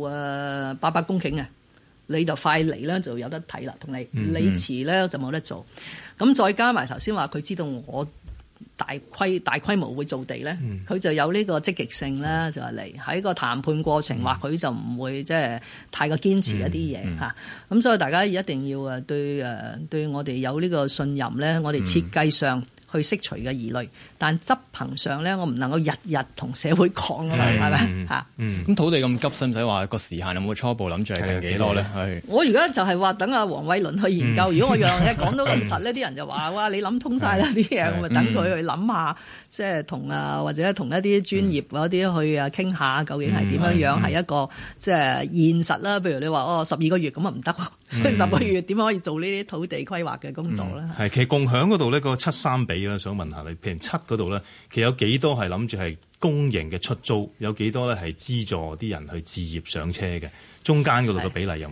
800公頃嘅，你就快嚟咧就有得睇啦，同你遲咧就冇得做。咁再加埋頭先話佢知道我大規模會做地咧，佢就有呢個積極性啦，就係嚟喺個談判過程，或許就唔會即係太過堅持一啲嘢嚇。咁所以大家一定要對我哋有呢個信任咧，我哋設計上去釋除嘅疑慮，但執行上咧，我唔能夠日日同社會講啊嘛，係咪嚇？ 咁土地咁急，使唔使話個時限有冇初步諗住係定幾多咧？ 我而家就係話等阿黃偉綸去研究。如果我樣嘢講到咁實呢，啲人就話哇，你諗通晒啦啲嘢，我咪等佢去諗下，即係同或者同一啲專業嗰啲去傾下，究竟係點樣樣係一個即係現實啦。譬如你話12個月咁啊唔得，10個月點可以做呢啲土地規劃嘅工作咧？ 其實共享嗰度呢個7-3比啦，想問下你，譬如7嗰度咧，其實有幾多係諗住係公營嘅出租，有幾多咧係資助啲人去置業上車嘅？中間嗰度嘅比例有冇？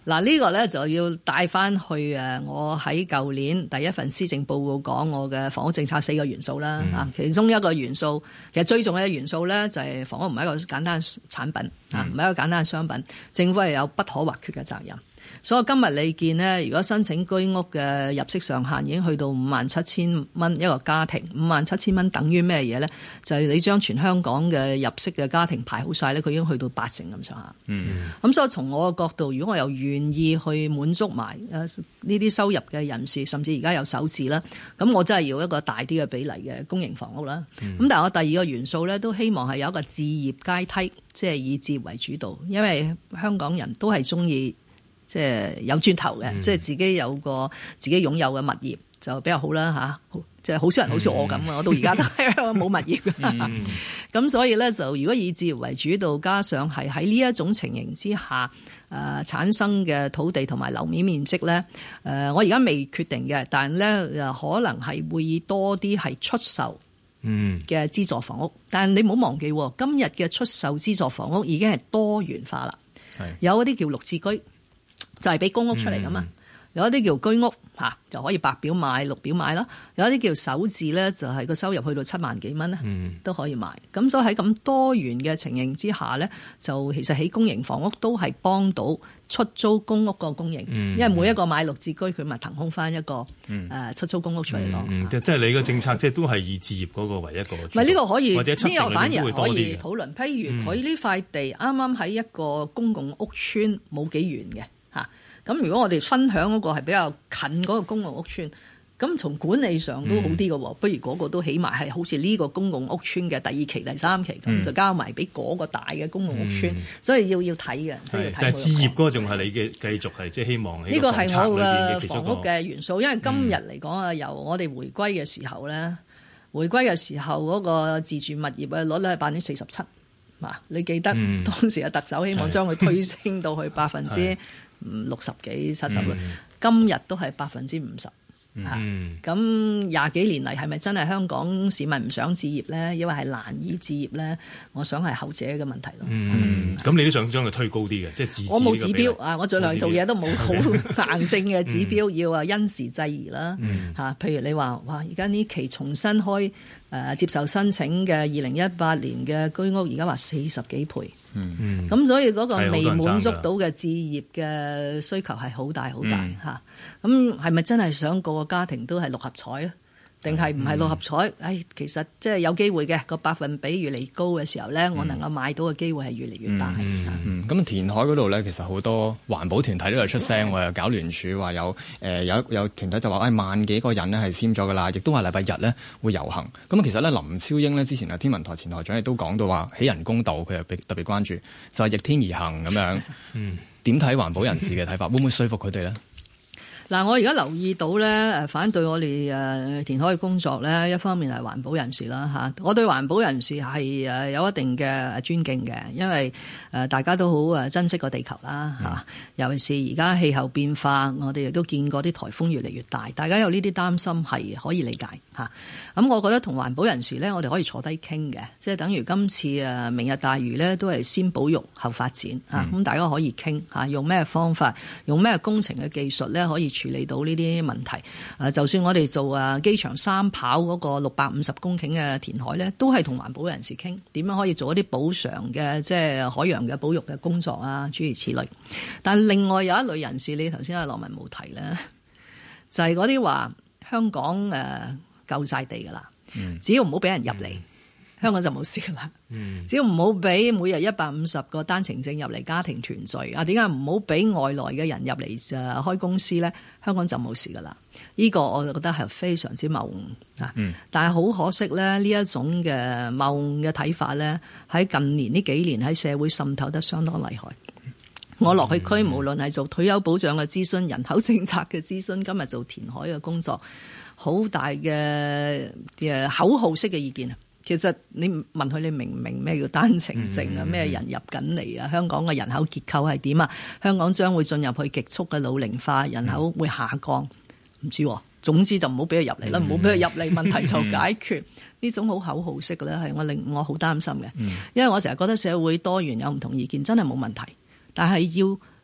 嗱，呢個咧就要帶翻去我喺舊年第一份施政報告講我嘅房屋政策4個元素啦嚇，其中一個元素其實最重要嘅元素咧就係房屋唔係一個簡單產品啊，唔係一個簡單嘅商品，政府係有不可或缺嘅責任。所以今日你見呢，如果申請居屋嘅入息上限已經去到57,000蚊一個家庭，57,000蚊等於咩嘢咧？就係你將全香港嘅入息嘅家庭排好晒咧，佢已經去到80%咁上下。咁所以從我嘅角度，如果我又願意去滿足埋呢啲收入嘅人士，甚至而家有首置啦，咁我真係要一個大啲嘅比例嘅公營房屋啦。咁但係我第二個元素咧，都希望係有一個置業階梯，即係以置業為主導，因為香港人都係中意。即係有磚頭嘅，即係自己有個自己擁有嘅物業就比較好啦嚇。即係好少人好似我咁啊，我到而家都係冇物業嘅。咁所以咧，就如果以置業為主導，加上係喺呢一種情形之下產生嘅土地同埋樓面面積咧，我而家未決定嘅，但係咧可能係會以多啲係出售嘅資助房屋。但係你唔好忘記，今日嘅出售資助房屋已經係多元化啦，有一啲叫綠置居。就係俾公屋出嚟噶嘛，有一啲叫居屋嚇，就可以白表買綠表買啦，有一啲叫首置咧，就係個收入去到7萬幾蚊咧，都可以買。咁所以喺咁多元嘅情形之下咧，就其實起公營房屋都係幫到出租公屋個供應，因為每一個買綠置居，佢咪騰空翻一個出租公屋出嚟咯。 即係你個政策即係都係以置業嗰個為一個。唔係呢個可以， 或者呢個反而可以討論。譬如佢呢塊地啱啱喺一個公共屋邨冇幾遠嘅。咁如果我哋分享嗰個係比較近嗰個公共屋邨，咁從管理上都好啲嘅喎，不如嗰個都起碼係好似呢個公共屋邨嘅第2期、第3期咁，就交埋俾嗰個大嘅公共屋邨，所以要睇嘅。 但係置業嗰個仲係你嘅繼續係即係希望呢個係我嘅房屋嘅元素，因為今日嚟講啊，由我哋回歸嘅時候咧，嗰個自住物業嘅率咧係47%。你記得當時嘅特首希望將佢推升到去60幾70%，今日都係50%。咁20幾年嚟係咪真係香港市民唔想置業咧？因為係難以置業咧？我想係後者嘅問題咯。 咁你都想將佢推高啲嘅，即係自置。 我冇指標啊！我盡量做嘢都冇好硬性嘅指標，要因時制宜啦。譬如你話哇，而家呢期重新開接受申請嘅2018年嘅居屋，而家話40幾倍。咁所以嗰個未滿足到嘅置業嘅需求係好大好大嚇。咁係咪真係想個個家庭都係6合彩咧？定係唔係6合彩？其實即係有機會嘅，個百分比越嚟越高嘅時候咧，我能夠買到嘅機會係越嚟越大。 咁填海嗰度咧，其實好多環保團體都有出聲，又搞聯署話有團體就話萬幾個人咧係簽咗噶啦，亦都話禮拜日咧會遊行。咁其實咧林超英咧之前天文台前台長亦都講到話起人工島，佢又特別關注，就係逆天而行咁樣。點睇環保人士嘅睇法？會唔會說服佢哋咧？ 嗱，我而家留意到咧，反對我哋填海嘅工作咧，一方面係環保人士啦嚇，我對環保人士係有一定嘅尊敬嘅，因為大家都好珍惜個地球啦嚇，尤其是而家氣候變化，我哋亦都見過啲颱風越嚟越大，大家有呢啲擔心係可以理解嚇。咁我覺得同環保人士咧，我哋可以坐低傾嘅，即係等於今次明日大嶼咧，都係先保育後發展嚇，咁大家可以傾嚇，用咩方法，用咩工程嘅技術咧，可以處理到呢啲問題。就算我哋做機場三跑嗰個650公頃嘅填海咧，都係同環保人士傾點樣可以做一啲補償嘅，即係海洋嘅保育嘅工作啊，諸如此類。但另外有一類人士，你頭先阿羅文冇提咧，就係嗰啲話香港夠晒地噶啦，只要唔好俾人入嚟，香港就冇事噶啦。只要唔好俾每日150個單程證入嚟家庭團聚啊，點解唔好俾外來嘅人入嚟開公司咧？香港就冇事噶啦。呢個我就覺得係非常之謬誤啊！但係好可惜咧，呢一種嘅謬誤嘅睇法咧，喺近年呢幾年喺社會滲透得相當厲害。我落去區，無論係做退休保障嘅諮詢、人口政策嘅諮詢，今日做填海嘅工作，好大嘅口號式嘅意見啊！其實你問佢，你明唔明咩叫單程證啊？咩人入緊嚟啊？香港嘅人口結構係點啊？香港將會進入去極速嘅老齡化，人口會下降，唔知喎。總之就唔好俾佢入嚟啦，唔好俾佢入嚟，問題就解決。呢種好口號式嘅咧，係令我好擔心嘅，因為我成日覺得社會多元有唔同意見真係冇問題，但係要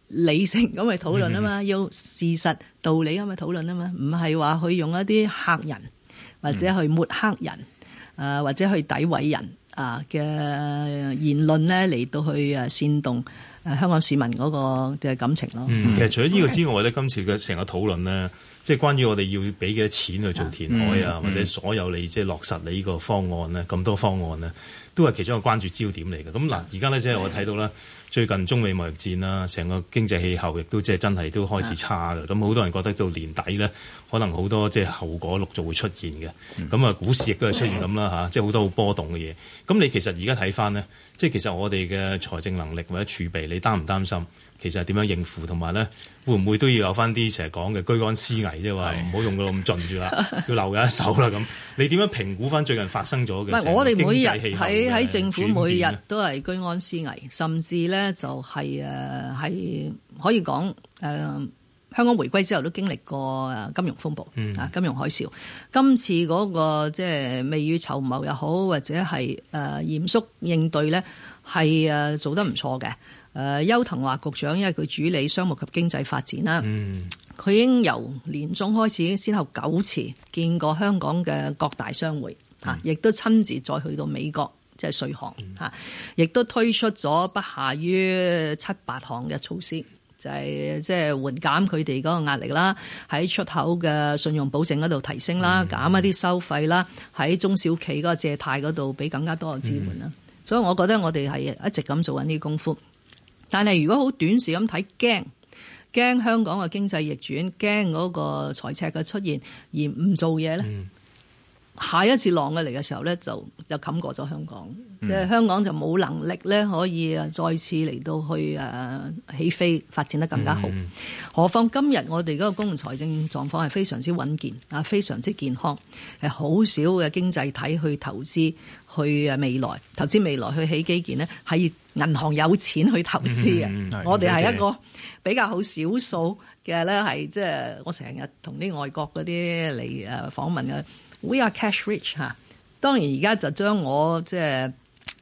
理性咁去討論啊嘛，要事實道理咁去討論啊嘛，唔係話去用一啲嚇人或者去抹黑人，或者去詆毀人嘅言論咧嚟到去煽動香港市民嗰個嘅感情咯。 其實除咗呢個之外咧，今次嘅成個討論咧，即係關於我哋要俾幾多錢去做填海啊，或者所有你即係落實你呢個方案咧，咁多方案咧，都係其中一個關注焦點嚟嘅。咁嗱，而家咧即係我睇到啦，最近中美貿易戰啦，成個經濟氣候亦都即係真係都開始差嘅。咁好多人覺得到年底咧，可能好多即係後果陸續會出現嘅。咁啊，股市亦都係出現咁啦嚇，即係好多好波動嘅嘢。咁你其實而家睇翻咧，即係其實我哋嘅財政能力或者儲備，你擔唔擔心？其實係點樣應付，同埋咧會唔會都要有翻啲成日講嘅居安思危，即係話唔好用到咁盡住啦，要留有一手啦咁。你點樣評估翻最近發生咗嘅經濟氣候嘅轉變呢？ 我哋每日喺政府每日都係居安思危，甚至咧就係可以講香港回歸之後都經歷過金融風暴金融海嘯。今次嗰個即係未雨綢繆又好，或者係嚴肅應對咧，係做得唔錯嘅。邱騰華局長，因為佢主理商務及經濟發展啦，佢已經由年中開始先後9次見過香港嘅各大商會亦都親自再去到美國，即係稅項亦都推出咗不下於7-8項嘅措施，就係即係緩減佢哋嗰個壓力啦，喺出口嘅信用保證嗰度提升啦，減一啲收費啦，喺中小企嗰個借貸嗰度俾更加多嘅支援啦。所以我覺得我哋係一直咁做緊呢啲功夫。但係如果好短視咁睇，驚香港嘅經濟逆轉，驚嗰個財赤嘅出現而唔做嘢咧，下一次浪嘅嚟嘅時候咧，就冚過咗香港，即係香港就冇能力咧可以再次嚟到去起飛發展得更加好。何況今日我哋嗰個公共財政狀況係非常之穩健非常之健康，係好少嘅經濟體去投資去投資未來去起基建咧，係銀行有錢去投資嘅。我哋係一個比較好少數嘅咧，係即係我成日同啲外國嗰啲嚟訪問嘅。We are cash rich 嚇，當然而家就將我即係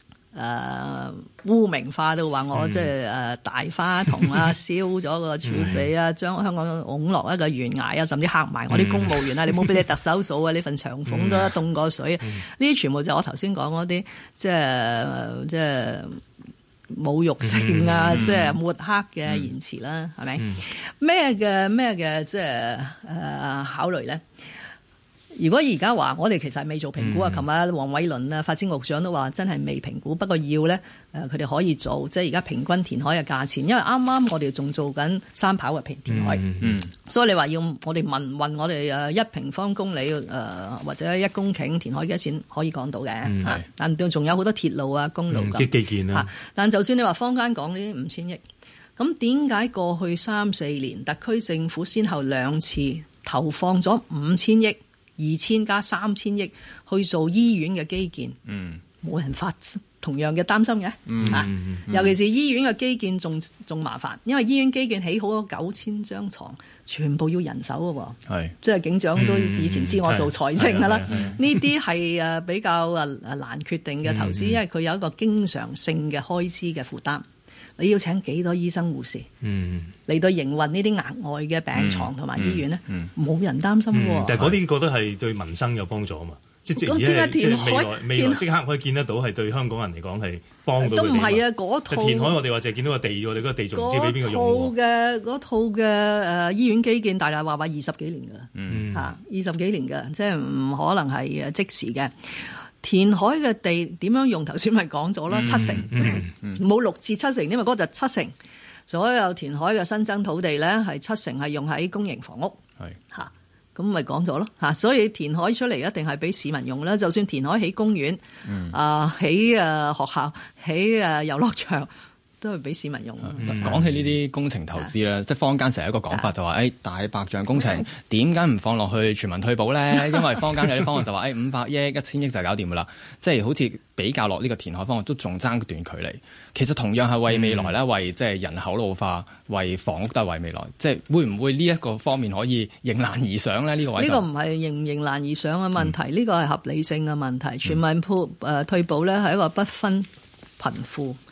污名化到話我即係大花筒燒咗個儲備將香港拱落一個懸崖甚至嚇埋我啲公務員你冇俾你特首數你份長俸都凍過水呢啲全部就我頭先講嗰啲即係侮辱性即係抹黑嘅言辭啦，係咪？咩嘅即係考慮咧？如果而家話我哋其實係未做評估琴日黃偉綸發展局長都話真係未評估，不過要咧佢哋可以做，即係而家平均填海嘅價錢，因為啱啱我哋仲做緊三跑嘅填海，所以你話要我哋問我哋1平方公里或者1公頃填海幾多錢可以講到嘅，但仲有好多鐵路公路咁基建啦。 但就算你話坊間講呢啲5000億，咁點解過去3-4年特區政府先後2次投放咗5000億？2000加3000億去做醫院嘅基建，冇人發同樣嘅擔心嘅，尤其是醫院嘅基建仲麻煩，因為醫院基建起好咗9000張床，全部要人手嘅喎，即係警長都以前知我做財政㗎啦，呢啲係比較難決定嘅投資，因為佢有一個經常性嘅開支嘅負擔。你要請幾多醫生護士嚟到營運呢啲額外嘅病床同埋醫院咧？冇人擔心喎。 但係嗰啲覺得係對民生有幫助啊嘛，即係未來即刻可以見得到係對香港人嚟講係幫到佢哋。都唔係嗰套填海，我哋話就係見到個地，我哋嗰個地仲唔知俾邊個用喎。 嗰套嘅醫院基建，大大話20幾年㗎，20幾年㗎，即係唔可能係即時嘅。填海嘅地點樣用？頭先咪講咗啦，7成，冇6至7成，因為嗰就7成。所有填海嘅新增土地咧，係7成係用喺公營房屋，咁咪講咗咯，所以填海出嚟一定係俾市民用啦。就算填海起公園，起學校，起遊樂場，都係俾市民用。 講起呢啲工程投資咧，即係坊間成日一個講法就話，大白象工程點解唔放落去全民退保咧？因為坊間有啲方案就話500億、1000億就搞掂噶啦，即係好似比較落呢個填海方案都仲爭段距離。其實同樣係為未來咧，為即係人口老化、為房屋都係為未來。即係會唔會呢一個方面可以迎難而上咧？呢個位呢個唔係迎難而上嘅問題，呢個係合理性嘅問題。全民退保咧係一個不分貧富。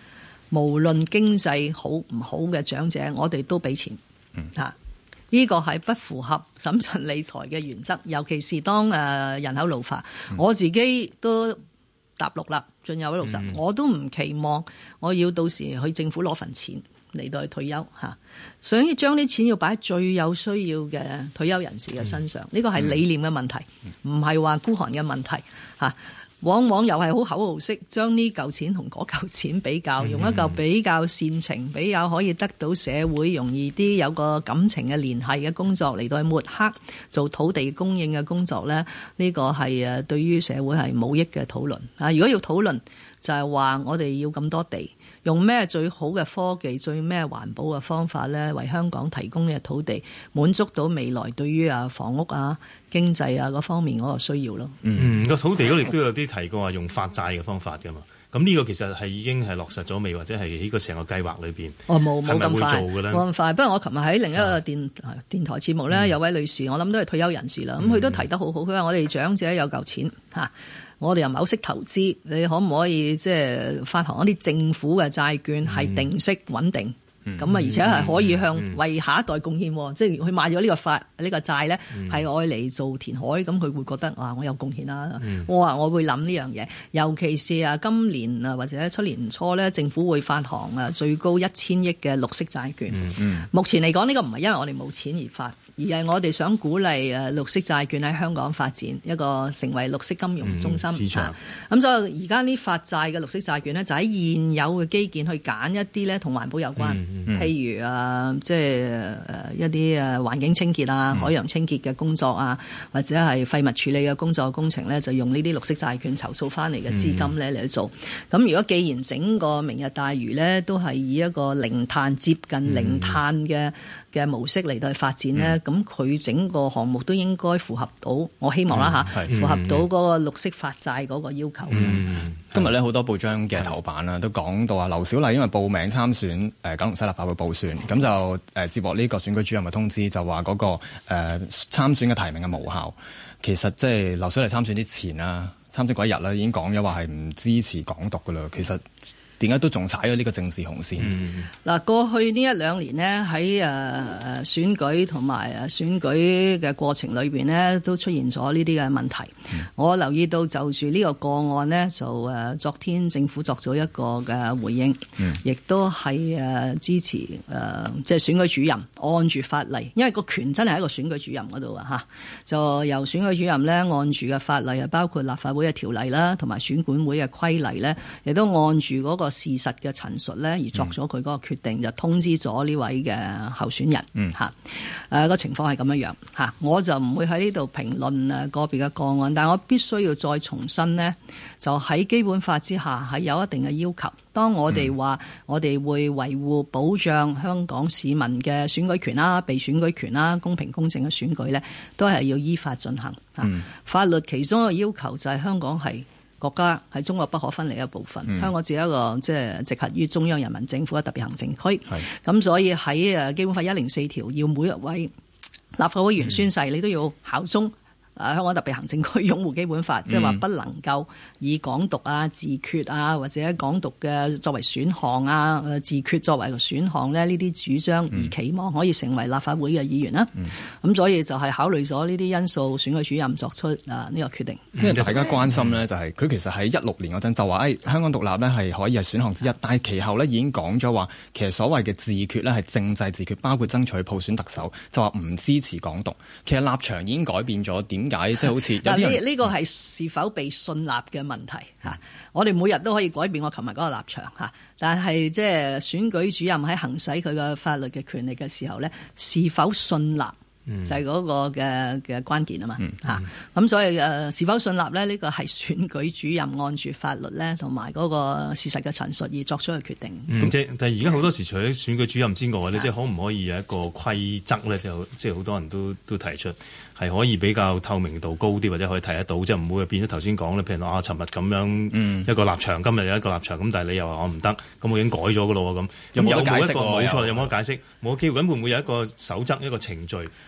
無論經濟好唔好嘅長者，我哋都俾錢嚇。呢個係不符合審慎理財嘅原則，尤其是當人口老化。我自己都踏入啦，進入60，我都唔期望我要到時去政府攞份錢嚟到去退休嚇，想要將啲錢要擺喺最有需要嘅退休人士嘅身上，呢個係理念嘅問題，唔係話孤寒嘅問題嚇。往往又係好口號式將呢嚿錢同嗰嚿錢比較，用一嚿比較煽情、比較可以得到社會容易啲有個感情嘅聯繫嘅工作嚟到去抹黑做土地供應嘅工作咧，呢個係對於社會係冇益嘅討論啊！如果要討論就係話我哋要咁多地，用咩最好嘅科技、最咩環保嘅方法咧，為香港提供嘅土地，滿足到未來對於房屋啊、經濟啊嗰方面嗰個需要咯。 個土地嗰度亦都有啲提過話用發債嘅方法㗎嘛。咁呢個其實係已經係落實咗未，或者係喺個成個計劃裏邊？ 冇咁快， 冇咁快。不過我琴日喺另一個電台節目咧，有位女士，我諗都係退休人士啦。咁佢都提得好好，佢話我哋長者有嚿錢嚇。我哋又唔係好識投資，你可唔可以即係發行一啲政府嘅債券，係定息穩定？咁而且係可以向為下一代貢獻，即係佢買咗呢個債咧，係愛嚟做填海，咁佢會覺得我有貢獻啦。我話我會諗呢樣嘢，尤其是今年或者出年初咧，政府會發行最高1000億嘅綠色債券。目前嚟講，呢個唔係因為我哋冇錢而發，而係我哋想鼓勵綠色債券喺香港發展，一個成為綠色金融中心市場。咁所以而家呢發債嘅綠色債券咧，就喺現有嘅基建去揀一啲咧同環保有關。譬如即係一啲環境清潔啊、海洋清潔嘅工作啊，或者係廢物處理嘅工作工程咧，就用呢啲綠色債券籌措翻嚟嘅資金咧嚟去做。咁如果既然整個明日大嶼咧都係以一個零碳接近零碳嘅模式嚟到去發展咧，咁佢整個項目都應該符合到，我希望啦符合到嗰個綠色發債嗰個要求。 今日咧好多報章嘅頭版啦，都講到劉小麗因為報名參選九龍西立法會補選，咁就接獲呢個選舉主任嘅通知，就話嗰個參選嘅提名係無效。其實即係劉小麗參選之前啦，參選嗰一日咧已經講咗話係唔支持港獨噶啦。其實點解都仲踩咗呢個政治紅線？ 嗱，過去呢1-2年呢，喺選舉同埋選舉嘅過程裏邊呢，都出現咗呢啲嘅問題。我留意到就住呢個個案呢，就昨天政府作咗一個嘅回應，亦都係支持即係選舉主任按住法例，因為個權真係喺個選舉主任嗰度啊，就由選舉主任呢按住嘅法例啊，包括立法會嘅條例啦，同埋選管會嘅規例呢，亦都按住嗰個事實嘅陳述咧，而作咗佢嗰個決定，就通知咗呢位嘅候選人嚇。個情況係咁樣嚇，我就唔會喺呢度評論個別嘅個案，但係我必須要再重申呢，就喺基本法之下係有一定嘅要求。當我哋話我哋會維護保障香港市民嘅選舉權啦、被選舉權啦、公平公正嘅選舉咧，都係要依法進行。法律其中一個要求就係香港係國家係中國不可分離一部分，香港只係一個即係直轄於中央人民政府嘅特別行政區。咁所以喺基本法104條，要每一位立法會議員宣誓，你都要效忠香港特別行政區，擁護基本法，即係話不能夠以港獨啊、自決啊，或者港獨嘅作為選項啊、自決作為個選項咧，呢啲主張而期望可以成為立法會嘅議員啦。咁所以就係考慮咗呢啲因素，選舉主任作出呢個決定。 因為大家關心呢，就係佢其實喺16年嗰陣就話香港獨立呢係可以係選項之一，但係其後呢已經講咗話，其實所謂嘅自決呢係政制自決，包括爭取普選特首，就話唔支持港獨。其實立場已經改變咗，點解即係好似有啲人呢個係是否被信納嘅問題嚇？我哋每日都可以改變我琴日嗰個立場嚇，但係即係選舉主任喺行使佢嘅法律嘅權力嘅時候咧，是否信納？就係嗰個嘅關鍵啊嘛嚇，咁所以是否信納咧？呢個係選舉主任按住法律咧同埋嗰個事實嘅陳述而作出嘅決定。 但係而家好多時除咗選舉主任之外咧，即係可唔可以有一個規則咧？即係好多人都提出係可以比較透明度高啲，或者可以睇得到，即係唔會變咗頭先講咧。譬如話尋日咁樣一個立場，今日有一個立場，咁但係你又話我唔得，咁我已經改咗噶咯喎咁。有冇一個冇錯？有冇得解釋？冇機會咁會唔會有一個守則、一個程序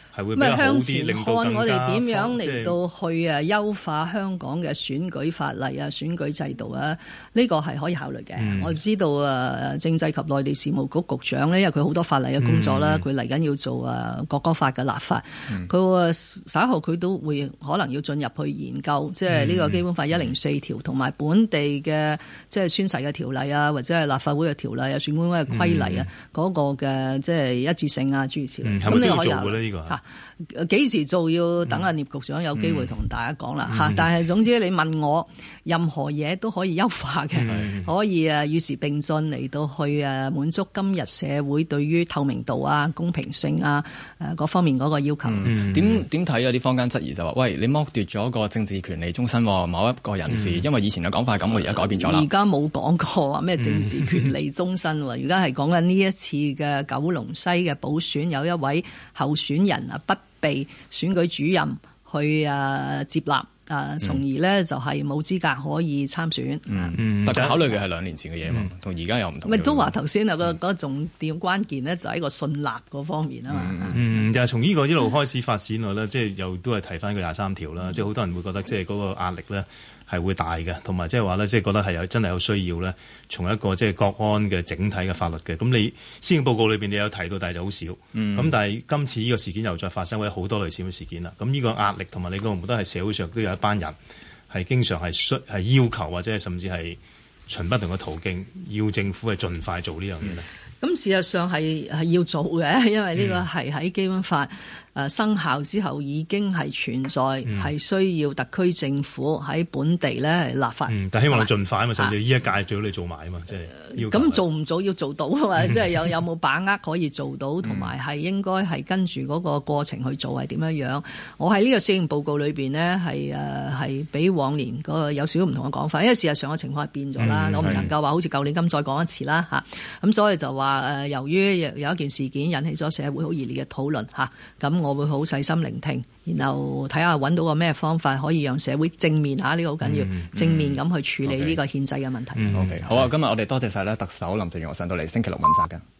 係會比較好向啲，令前看到更加我哋點樣嚟即係到去優化香港嘅選舉法例啊、選舉制度啊，呢個係可以考慮嘅。我知道政制及內地事務局局長呢，因為佢好多法例嘅工作啦，佢嚟緊要做國歌法嘅立法，佢稍後佢都會可能要進入去研究，即係呢個基本法104條同埋本地嘅即係宣誓嘅條例啊，或者係立法會嘅條例啊、選管會嘅規例啊，嗰個嘅即係一致性啊諸如此類。 係咪都要做嘅呢？呢個幾時做要等阿聶局長有機會同大家講啦嚇。但係總之你問我，任何嘢都可以優化嘅，可以與時並進嚟到去滿足今日社會對於透明度啊、公平性啊各方面嗰個要求。 點睇有啲坊間質疑就話：喂，你剝奪咗個政治權利終身某一個人士，因為以前嘅講法係咁，我而家改變咗啦。 而家冇講過話咩政治權利終身喎，而家係講緊呢一次嘅九龍西嘅補選，有一位候選人不被選舉主任去接納。從而呢就係冇資格可以參選。 但係考慮嘅係2年前嘅嘢嘛，同而家又唔同。 咪都話頭先個重點關鍵呢，就喺個信納嗰方面啊嘛。 就係從呢個一路開始發展落咧，即係又都係提翻個23條啦。即係好多人會覺得即係嗰個壓力咧係會大嘅，同埋即係話咧，即係覺得係真係有需要咧，從一個即係國安嘅整體嘅法律嘅。咁你施政報告裏邊你有提到，但係就好少。咁但係今次呢個事件又再發生，或者好多類似嘅事件啦。咁呢個壓力同埋你覺唔覺得係社會上都有一班人係經常係要求或者係甚至係循不同嘅途徑要政府係盡快做呢樣嘢咧？ 咁事實上係要做嘅，因為呢個係喺基本法生效之後已經係存在，係需要特區政府喺本地咧立法。 但希望你盡快啊嘛，甚至呢一屆最好你做埋啊嘛，即係要。 咁做唔做要做到啊嘛，即係有冇把握可以做到，同埋係應該係跟住嗰個過程去做係點樣樣。我喺呢個施政報告裏邊呢，係比往年嗰個有少少唔同嘅講法，因為事實上嘅情況係變咗啦，我唔能夠話好似舊年咁再講一次啦嚇。咁所以就話由於有一件事件引起咗社會好熱烈嘅討論嚇，咁我會好細心聆聽，然後睇下揾到個咩方法可以讓社會正面嚇，呢個好緊要，正面咁去處理呢個憲制嘅問題。 OK， 好啊，今日我哋多謝晒咧特首林鄭月娥上到嚟星期六問責嘅。